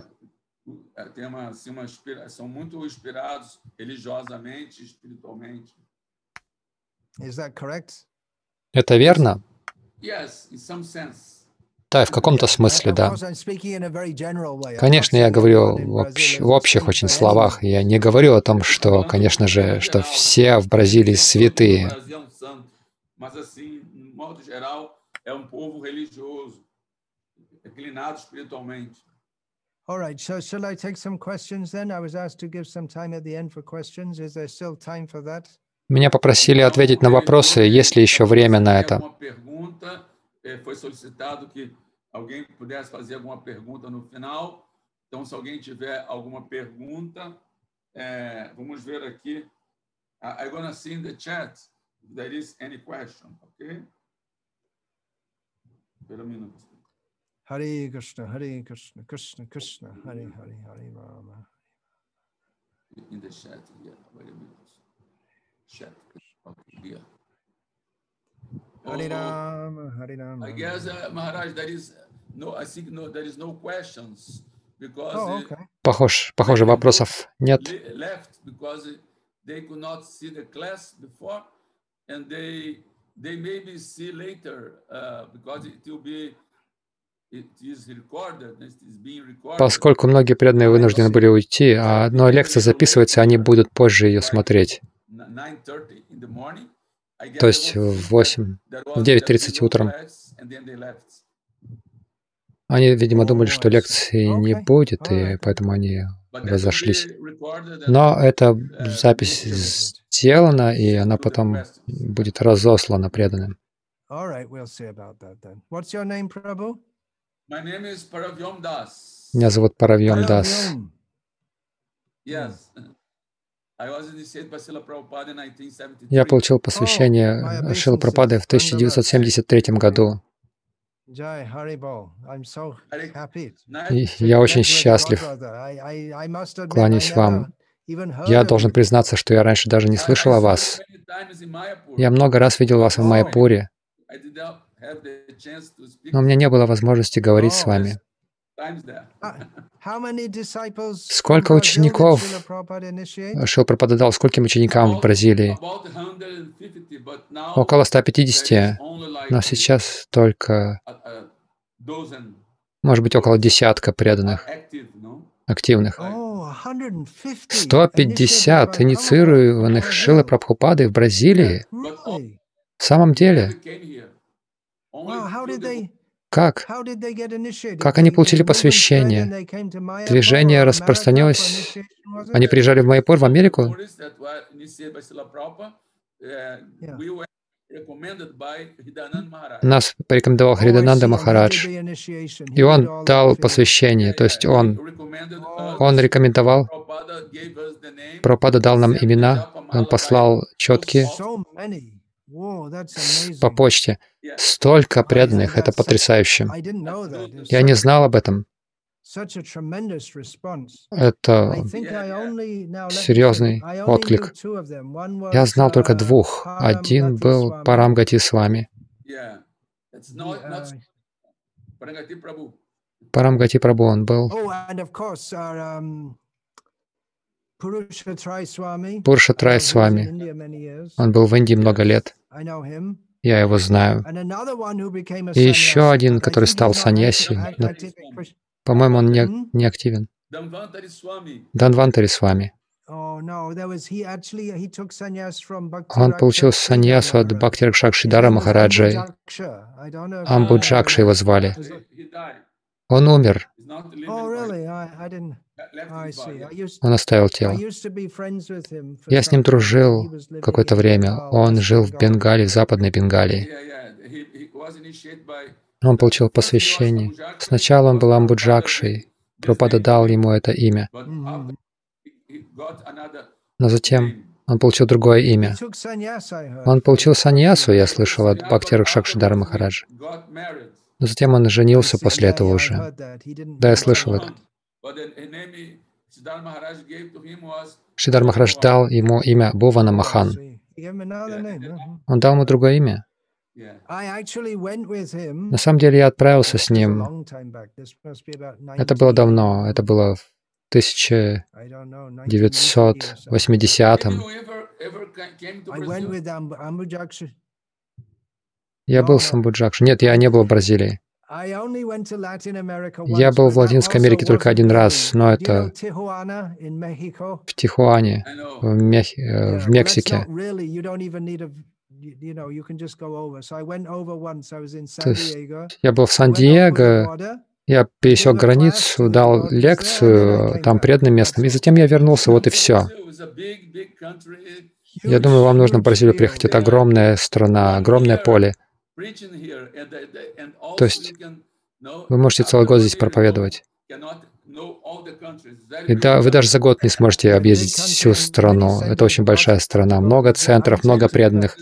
Это верно? Да, в каком-то смысле, да. Конечно, я говорю в, общ... в общих очень словах. Я не говорю о том, что, конечно же, что все в Бразилии святые. All right, so shall I take some questions then? I was asked to give some time at the end for questions. Is there still time for that? Меня попросили ответить на вопросы, есть ли еще время на это. alguém pudesse fazer alguma pergunta no final. Então, se alguém tiver alguma pergunta, é, vamos ver aqui. I'm going to see in the chat if there is any question, okay? Wait a minute. Hare Krishna, Hare Krishna, Krishna Krishna, Hare Hare, Hare Rama. In the chat, yeah. Wait a minute. Chat. Okay, yeah. Hare Rama, Hare Rama. I guess, uh, Maharaj, there is no, I think no, there is no questions because Oh, okay. Похож, похоже, вопросов нет. Left because they could not see the class before, and they they maybe see later uh, because it will be it is recorded, it is being recorded. Поскольку многие преданные вынуждены были уйти, а но лекция записывается, они будут позже ее смотреть. То есть в восемь, в девять тридцать утром. Они, видимо, думали, что лекции не будет, и поэтому они разошлись. Но эта запись сделана, и она потом будет разослана преданным. Меня зовут Паравьям Дас. Я получил посвящение Шрилы Прабхупады в тысяча девятьсот семьдесят третьем году. И я очень счастлив. Кланяюсь вам. Я должен признаться, что я раньше даже не слышал о вас. Я много раз видел вас в Майяпуре, но у меня не было возможности говорить с вами. Сколько учеников Шрила Прабхупада дал скольким ученикам в Бразилии? Около ста пятидесяти, но сейчас только, может быть, около десятка преданных, активных. сто пятьдесят инициированных Шрилой Прабхупадой в Бразилии? В самом деле? Как? Как они получили посвящение? Движение распространилось. Они приезжали в Майяпур, в Америку? Нас порекомендовал Хридананда Махарадж, и он дал посвящение, то есть он, он рекомендовал, Прабхупада дал нам имена, он послал четкие по почте. Столько преданных, это потрясающе. Я не знал об этом. Это серьезный отклик. Я знал только двух. Один был Парамгати Свами. Парамгати Прабху он был. Пурушатрай Свами. Он был в Индии много лет. Я его знаю. И еще один, который стал саньяси. По-моему, он не, не активен. Данвантари Свами. Он получил саньясу от Бхакти Ракшакшидара Махараджа. Амбуджакша его звали. Он умер. Он оставил тело. Я с ним дружил какое-то время. Он жил в Бенгалии, в Западной Бенгалии. Он получил посвящение. Сначала он был Амбуджакшей. Прабхупада дал ему это имя. Но затем он получил другое имя. Он получил саньясу, я слышал, от Бхакти Ракшакшидара Махараджа. Но затем он женился после этого уже. Да, я слышал это. Шридар Махарадж дал ему имя Бхувана Махан. Он дал ему другое имя. На самом деле я отправился с ним. Это было давно. Это было в тысяча девятьсот восьмидесятом. Я был в Амбуджакше. Нет, я не был в Бразилии. Я был в Латинской Америке только один раз, но это в Тихуане, в, Мех... в Мексике. То есть я был в Сан-Диего, я пересек границу, дал лекцию там преданным местным, и затем я вернулся, вот и все. Я думаю, вам нужно в Бразилию приехать. Это огромная страна, огромное поле. То есть Вы можете целый год здесь проповедовать. И да, вы даже за год не сможете объездить всю страну. Это очень большая страна. Много центров, много преданных.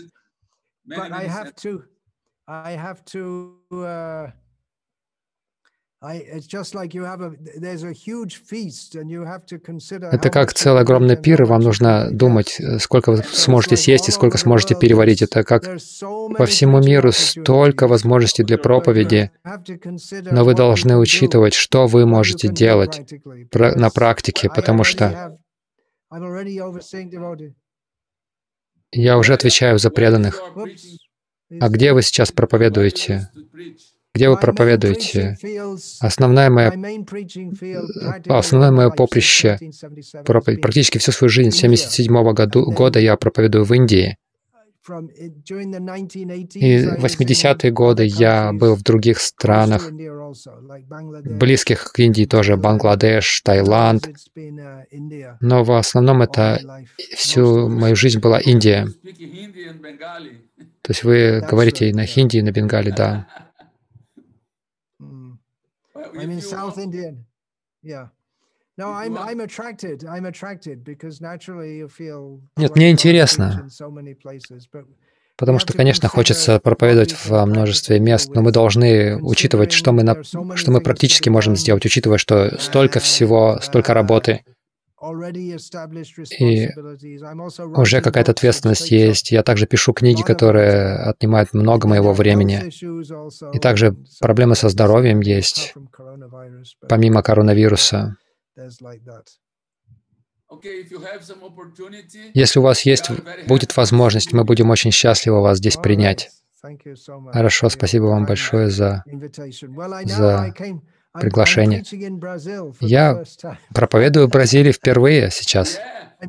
Это как целый огромный пир, и вам нужно думать, сколько вы сможете съесть и сколько сможете переварить. Это как по всему миру столько возможностей для проповеди, но вы должны учитывать, что вы можете делать на практике, потому что я уже отвечаю за преданных. А где вы сейчас проповедуете? Где вы проповедуете? Основное мое, основное мое поприще, проповедь, практически всю свою жизнь, с семьдесят седьмого года я проповедую в Индии. И в восьмидесятые годы я был в других странах, близких к Индии тоже, Бангладеш, Таиланд. Но в основном это всю мою жизнь была Индия. То есть вы говорите и на хинди, и на бенгале, да. I'm in South Indian. Yeah. No, I'm I'm attracted. I'm attracted because naturally you feel. Нет, мне интересно, потому что, конечно, хочется проповедовать во множестве мест, но мы должны учитывать, что мы на, что мы практически можем сделать, учитывая, что столько всего, столько работы. И уже какая-то ответственность есть. Я также пишу книги, которые отнимают много моего времени. И также проблемы со здоровьем есть, помимо коронавируса. Если у вас есть, будет возможность, мы будем очень счастливы вас здесь принять. Хорошо, спасибо вам большое за, за приглашение. Я проповедую в Бразилии впервые сейчас.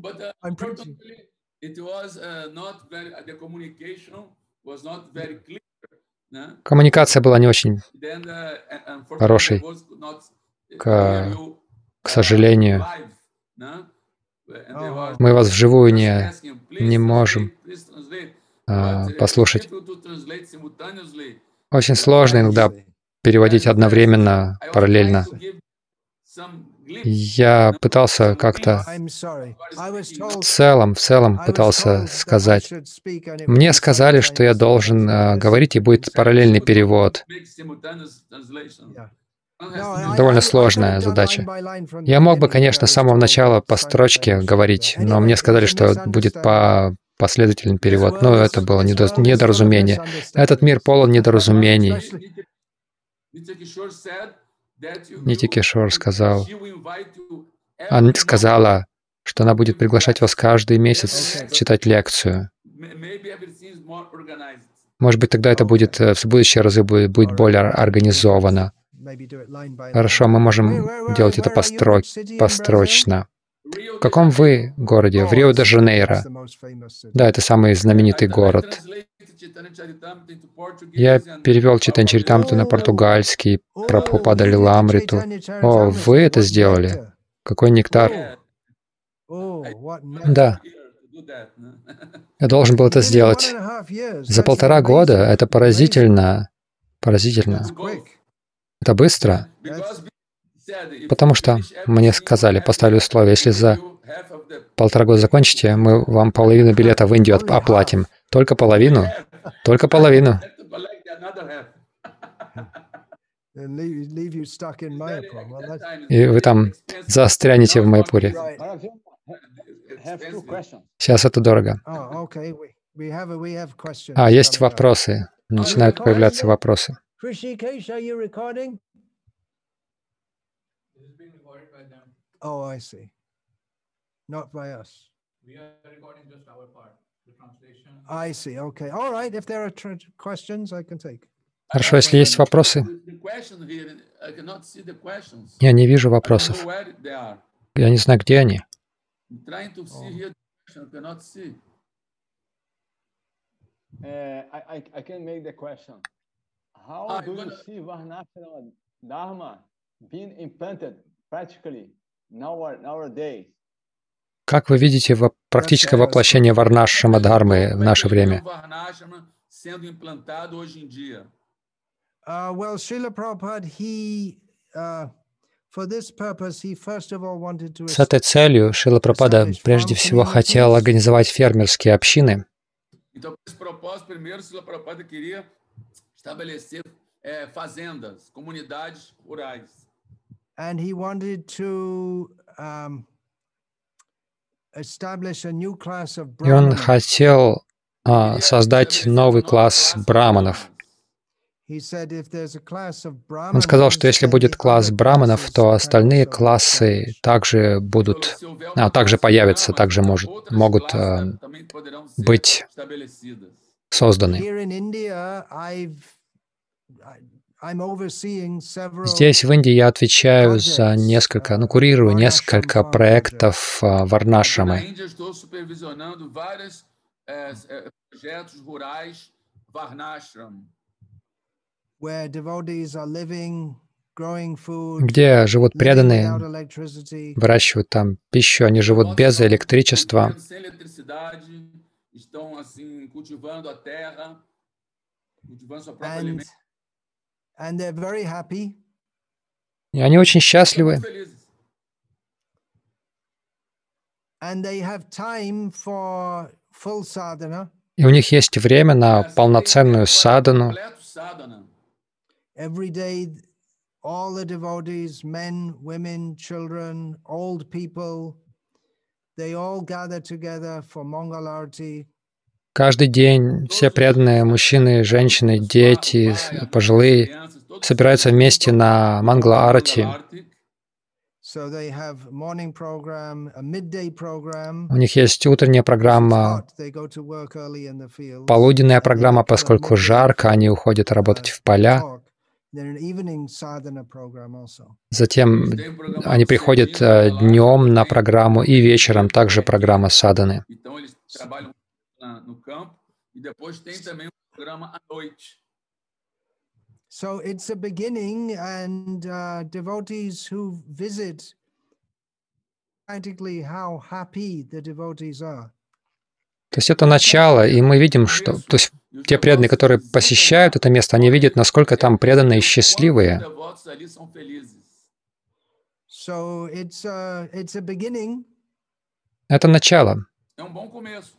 Коммуникация была не очень хорошей, к, к сожалению. Мы вас вживую не, не можем а, послушать. Очень сложно иногда переводить одновременно, параллельно. Я пытался как-то в целом, в целом пытался сказать. Мне сказали, что я должен uh, говорить, и будет параллельный перевод. Довольно сложная задача. Я мог бы, конечно, с самого начала по строчке говорить, но мне сказали, что будет по последовательный перевод. Но это было недо- недоразумение. Этот мир полон недоразумений. Нити Кишор сказал, она сказала, что она будет приглашать вас каждый месяц читать лекцию. Может быть, тогда это будет в будущие разы будет, будет более организовано. Хорошо, мы можем делать это постро... построчно. В каком вы городе? В Рио-де-Жанейро. Да, это самый знаменитый город. Я перевел Чайтанья-чаритамриту на португальский, Прабхупада Лиламриту. О, вы это сделали? Какой нектар? Да. Я должен был это сделать. За полтора года это поразительно. Поразительно. Это быстро. Потому что мне сказали, поставили условие, если за полтора года закончите, мы вам половину билета в Индию оплатим. Только половину? Только половину. И вы там застрянете в Майяпуре. Сейчас это дорого. А, есть вопросы. Начинают появляться вопросы. Oh, I see. Not by us. We are recording just our part, the translation. I see. Okay. All right. If there are questions, I can take. Хорошо, если есть вопросы. Я не вижу вопросов. Я не знаю, где они. How do you see Varnashram Dharma being implanted practically nowadays? Как вы видите во практическое воплощение Варнашрама Дхармы в наше время? Uh, well, Srila Prabhupada, he, uh, for this purpose, he first of all wanted to С этой целью Шрила Прабхупада establish прежде farm всего хотел communities. организовать фермерские общины. Então, com esse propósito, primeiro, Srila Prabhupada queria estabelecer eh, fazendas, comunidades rurais. And he wanted to um, establish a new class of И он Brahmanas. хотел а, создать новый класс браманов. He said, if there's a class of Он сказал, Brahmanas, что если then будет the класс other браманов, classes то can остальные also be классы established. также будут, а, также появятся, также может, могут а, быть созданы. Here in India, I've, I- I'm overseeing several Здесь, в Индии, я отвечаю за несколько, ну, курирую несколько проектов а, Na Варнашрамы. Índia, estou supervisionando vários eh, eh, projetos rurais Varnashram, where devotees are living, growing food, Где живут living преданные, without electricity. выращивают там пищу, они живут без электричества. vivendo sem eletricidade, estão assim cultivando a terra, cultivando seu próprio And, alimento. and they're very happy. И они очень Estão счастливы. muito felizes. And they have time for full sadhana. И у них есть время на Assim, tem полноценную tempo para садану. completo sadhana. Every day, all the devotees, men, women, children, old people, they all gather together for Mangalarti. Каждый день все преданные, мужчины, женщины, дети, с- пожилые, Crianças, todos собираются вместе на Мангла-арати. So they have morning program, a midday program. У них есть утренняя If it's программа, hot, they go to work early in the fields. полуденная And then программа, they come поскольку midday жарко, for, они уходят uh, работать в поля. talk. Then an evening sadhana program also. Затем Tem um programa они приходят э, днем на программу и вечером также программа саданы. Então eles trabalham na- no campo e depois tem também um programa à noite. So it's a beginning, and uh, devotees who visit practically how happy the devotees are. То есть это начало, и мы видим, что то есть E os те преданные, devotos которые visitam посещают lá, это место, они видят, насколько там преданные и quanto os счастливые. devotos ali são felizes. So it's a, it's a beginning, Это начало. É um bom começo.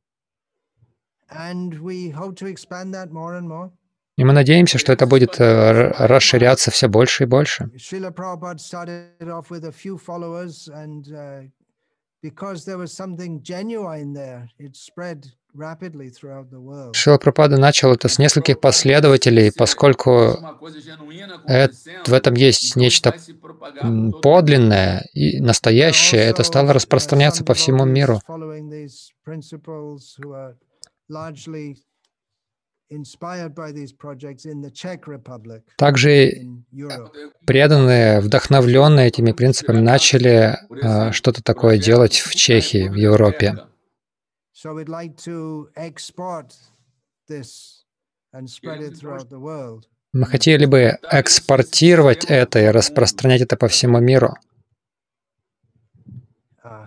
and we hope to expand that more and more. И мы надеемся, что это будет э, р- расширяться все больше и больше. Srila Prabhupada started off with a few followers, and uh, because there was something genuine there, it spread rapidly throughout the world. Шрила Прабхупада начал это с нескольких последователей, поскольку Uma coisa genuína э- acontecendo, в этом есть então нечто vai se propagar м, por todo подлинное и настоящее. Это Also, стало uh, распространяться some по всему devotees миру. following these principles who are largely inspired by these projects in the Czech Republic Также in Europe. преданные, вдохновленные этими принципами, начали э, что-то такое делать в Чехии, в Европе. So we'd like to export this and spread it throughout the world. Мы хотели бы экспортировать это и распространять это по всему миру. Uh,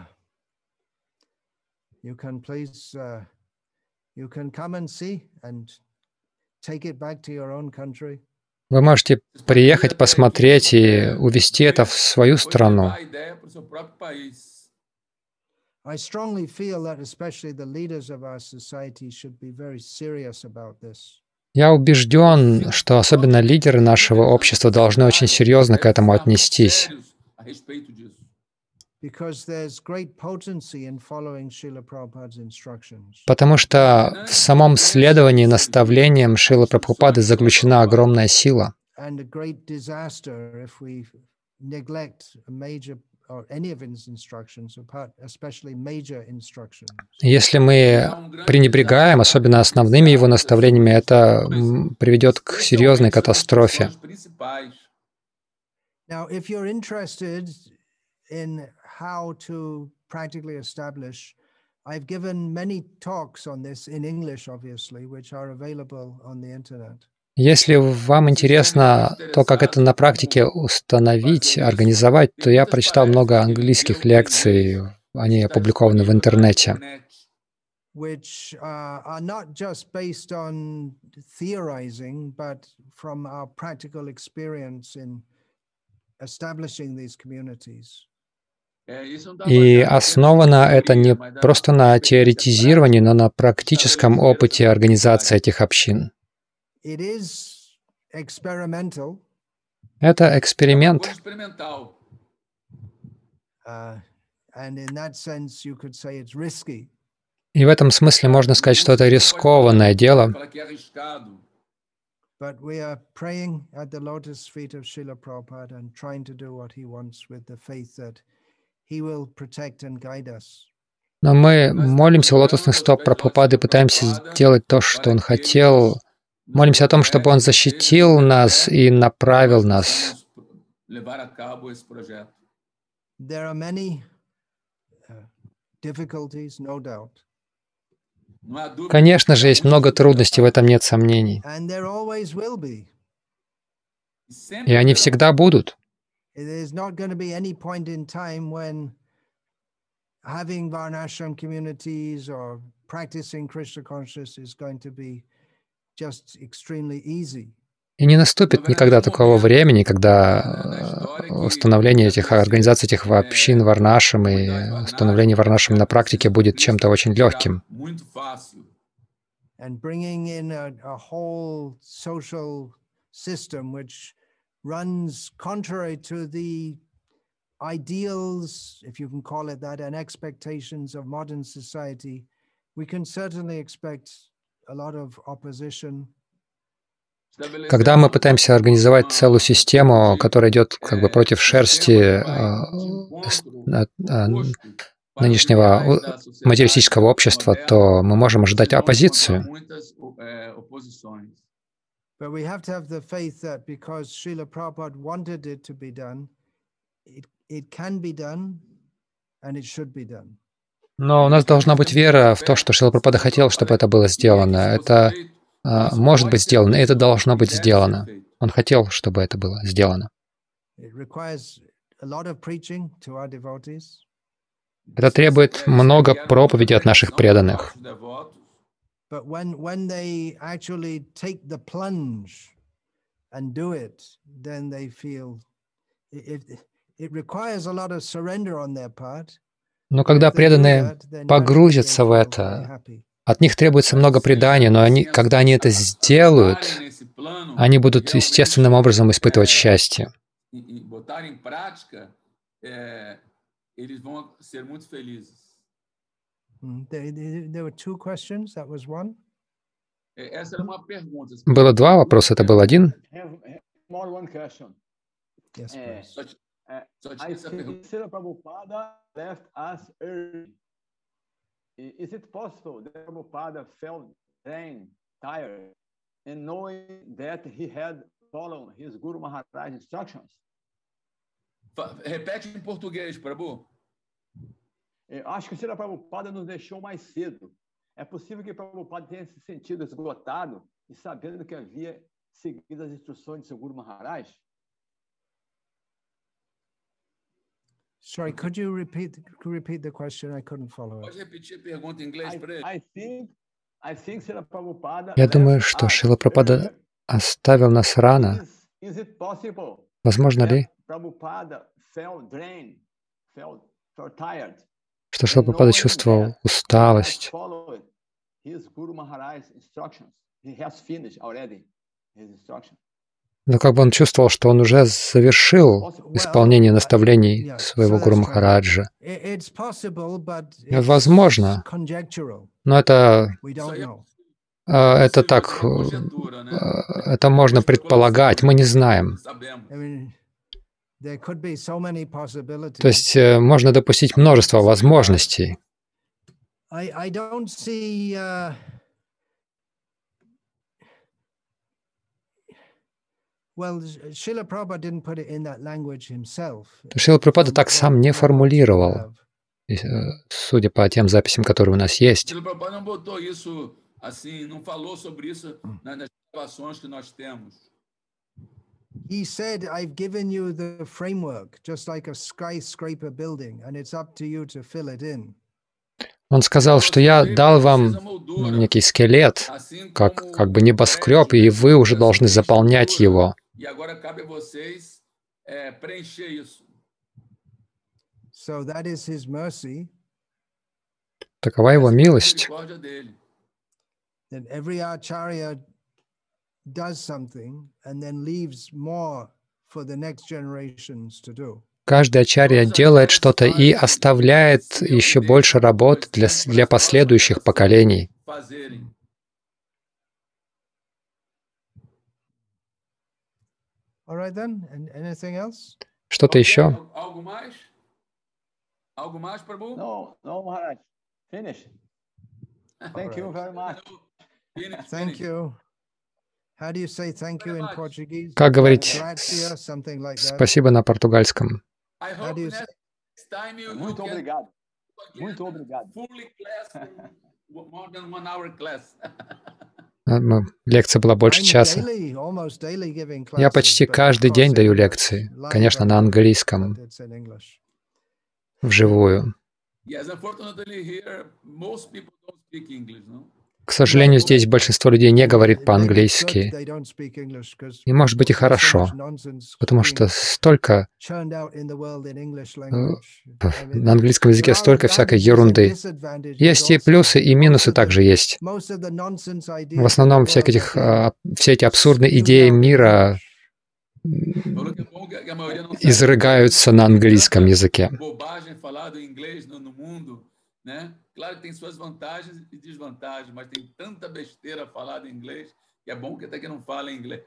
you can please, uh, you can come and see and take it back to your own country. Вы можете приехать, посмотреть и увезти это в свою страну. levar a ideia para o seu próprio país. I strongly feel that especially the leaders of our society should be very serious about this. Я убежден, что особенно лидеры нашего общества должны очень серьезно к этому отнестись, Sérios a respeito disso. Because there's great potency in following Srila Prabhupada's instructions. потому что в самом следовании наставлениям Шрилы Прабхупады заключена огромная сила. And a great disaster if we neglect a major or any of his instructions, apart, especially major instructions. Если мы пренебрегаем, особенно основными его наставлениями, это м, приведет к серьезной катастрофе. Os principais. Now, if you're interested in how to practically establish, I've given many talks on this in English, obviously, which are available on the internet. Если вам интересно то, как это на практике установить, организовать, то я прочитал много английских лекций, они опубликованы в интернете. which uh, are not just based on theorizing, but from our practical experience in establishing these communities. И основано это не просто на теоретизировании, но на практическом опыте организации этих общин. It is experimental. Это эксперимент. Uh, and in that sense, you could say it's risky. И в этом смысле можно сказать, что это рискованное дело. But we are praying at the lotus feet of Srila Prabhupada and trying to do what he wants with the faith that he will protect and guide us. Но мы молимся у лотосных стоп Прабхупады, пытаемся сделать то, что он хотел. Молимся о том, чтобы он защитил нас и направил нас. There are many uh, difficulties, no doubt. Конечно же, есть много трудностей, в этом нет сомнений. And there always will be. И они всегда будут. There's not going to be any point in time when having Varnashram communities or practicing Krishna consciousness is going to be just extremely easy. И не наступит никогда такого времени, когда установление этих организаций, этих общин Варнашрам и установление Варнашрам на практике будет чем-то очень легким. And bringing in a, a whole social system which runs contrary to the ideals, if you can call it that, and expectations of modern society, we can certainly expect a lot of opposition. Когда мы пытаемся организовать целую систему, которая идет как бы против шерсти нынешнего материалистического общества, то мы можем ожидать оппозицию. But we have to have the faith that because Srila Prabhupada wanted it to be done, it, it can be done and it should be done. Но у нас должна быть вера в то, что Шрила Прабхупада хотел, чтобы это было сделано. Это uh, может быть сделано, и это должно быть сделано. Он хотел, чтобы это было сделано. Это требует много проповеди от наших преданных. But when, when they actually take the plunge and do it, then they feel it, it requires a lot of surrender on their part. Но когда преданные погрузятся в это, от них требуется много предания, но они, когда они это сделают, они будут естественным образом испытывать счастье. Было два вопроса, это был один. I think Srila Prabhupada left us early. Is it possible that Prabhupada felt drained, tired, and knowing that he had followed his Guru Maharaj instructions? Repete em português, Prabhu. Eu acho que o Srila Prabhupada nos deixou mais cedo. É possível que Prabhupada tenha se sentido esgotado e sabendo que havia seguido as instruções de seu Guru Maharaj? Sorry, could you repeat could you repeat the question? I couldn't follow it. Pode repetir a pergunta em inglês para ele? I think, I think Srila Prabhupada Я думаю, что Шрила Прабхупада оставил нас рано. Is it possible? Возможно ли, Prabhupada felt drained, felt so tired, что Шрила Прабхупада чувствовал усталость? His Guru Maharaj's instructions. He has finished already his instructions. Но как бы он чувствовал, что он уже завершил исполнение наставлений своего Гуру Махараджа. Возможно, но это, это так, это можно предполагать, мы не знаем. То есть можно допустить множество возможностей. Шрила Прабхупада так сам не формулировал, судя по тем записям, которые у нас есть. He said, I've given you the framework, just like a skyscraper building, and it's up to you to fill it in. Он сказал, что я дал вам ну, некий скелет, как, как бы небоскреб, и вы уже должны заполнять его. Такова его милость. Каждый ачарья делает что-то и оставляет еще больше работ для, для последующих поколений. Что-то еще? Как говорить спасибо на португальском? Muito obrigado. Muito obrigado. Лекция была больше часа. Я почти каждый день даю лекции, конечно, на английском, вживую. К сожалению, здесь большинство людей не говорит по-английски. И может быть и хорошо, потому что столько на английском языке столько всякой ерунды. Есть и плюсы, и минусы также есть. В основном всяких этих, все эти абсурдные идеи мира изрыгаются на английском языке. Claro que tem suas vantagens e desvantagens, mas tem tanta besteira falada em inglês que é bom que até que não fala inglês.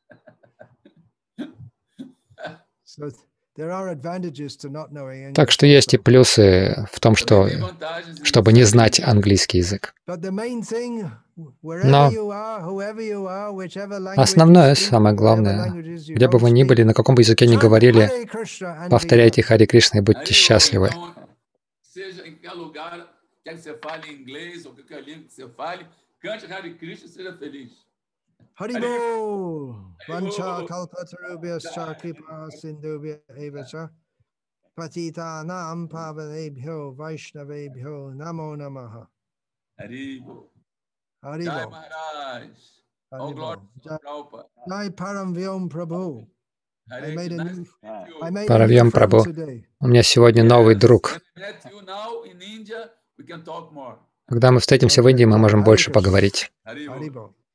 Так что есть и плюсы в том, что, чтобы не знать английский язык. Но основное, самое главное, где бы вы ни были, на каком бы языке ни говорили, повторяйте Харе Кришна и будьте счастливы. Quer que você fale inglês ou qualquer língua que você fale, cante Hare Krishna e seja feliz. Haribo! Vancha kalpatarubhyascha kripa sindhubhya evacha patitanam pavanebhyo vaishnavebhyo namo namaha. Haribo. Haribo. Jai Maharaj. All glory to Prabhupada. Jai Param Vyom Prabhu. I made a new, I made Паравьям Прабху. У меня сегодня новый друг. Когда мы встретимся в Индии, мы можем больше поговорить.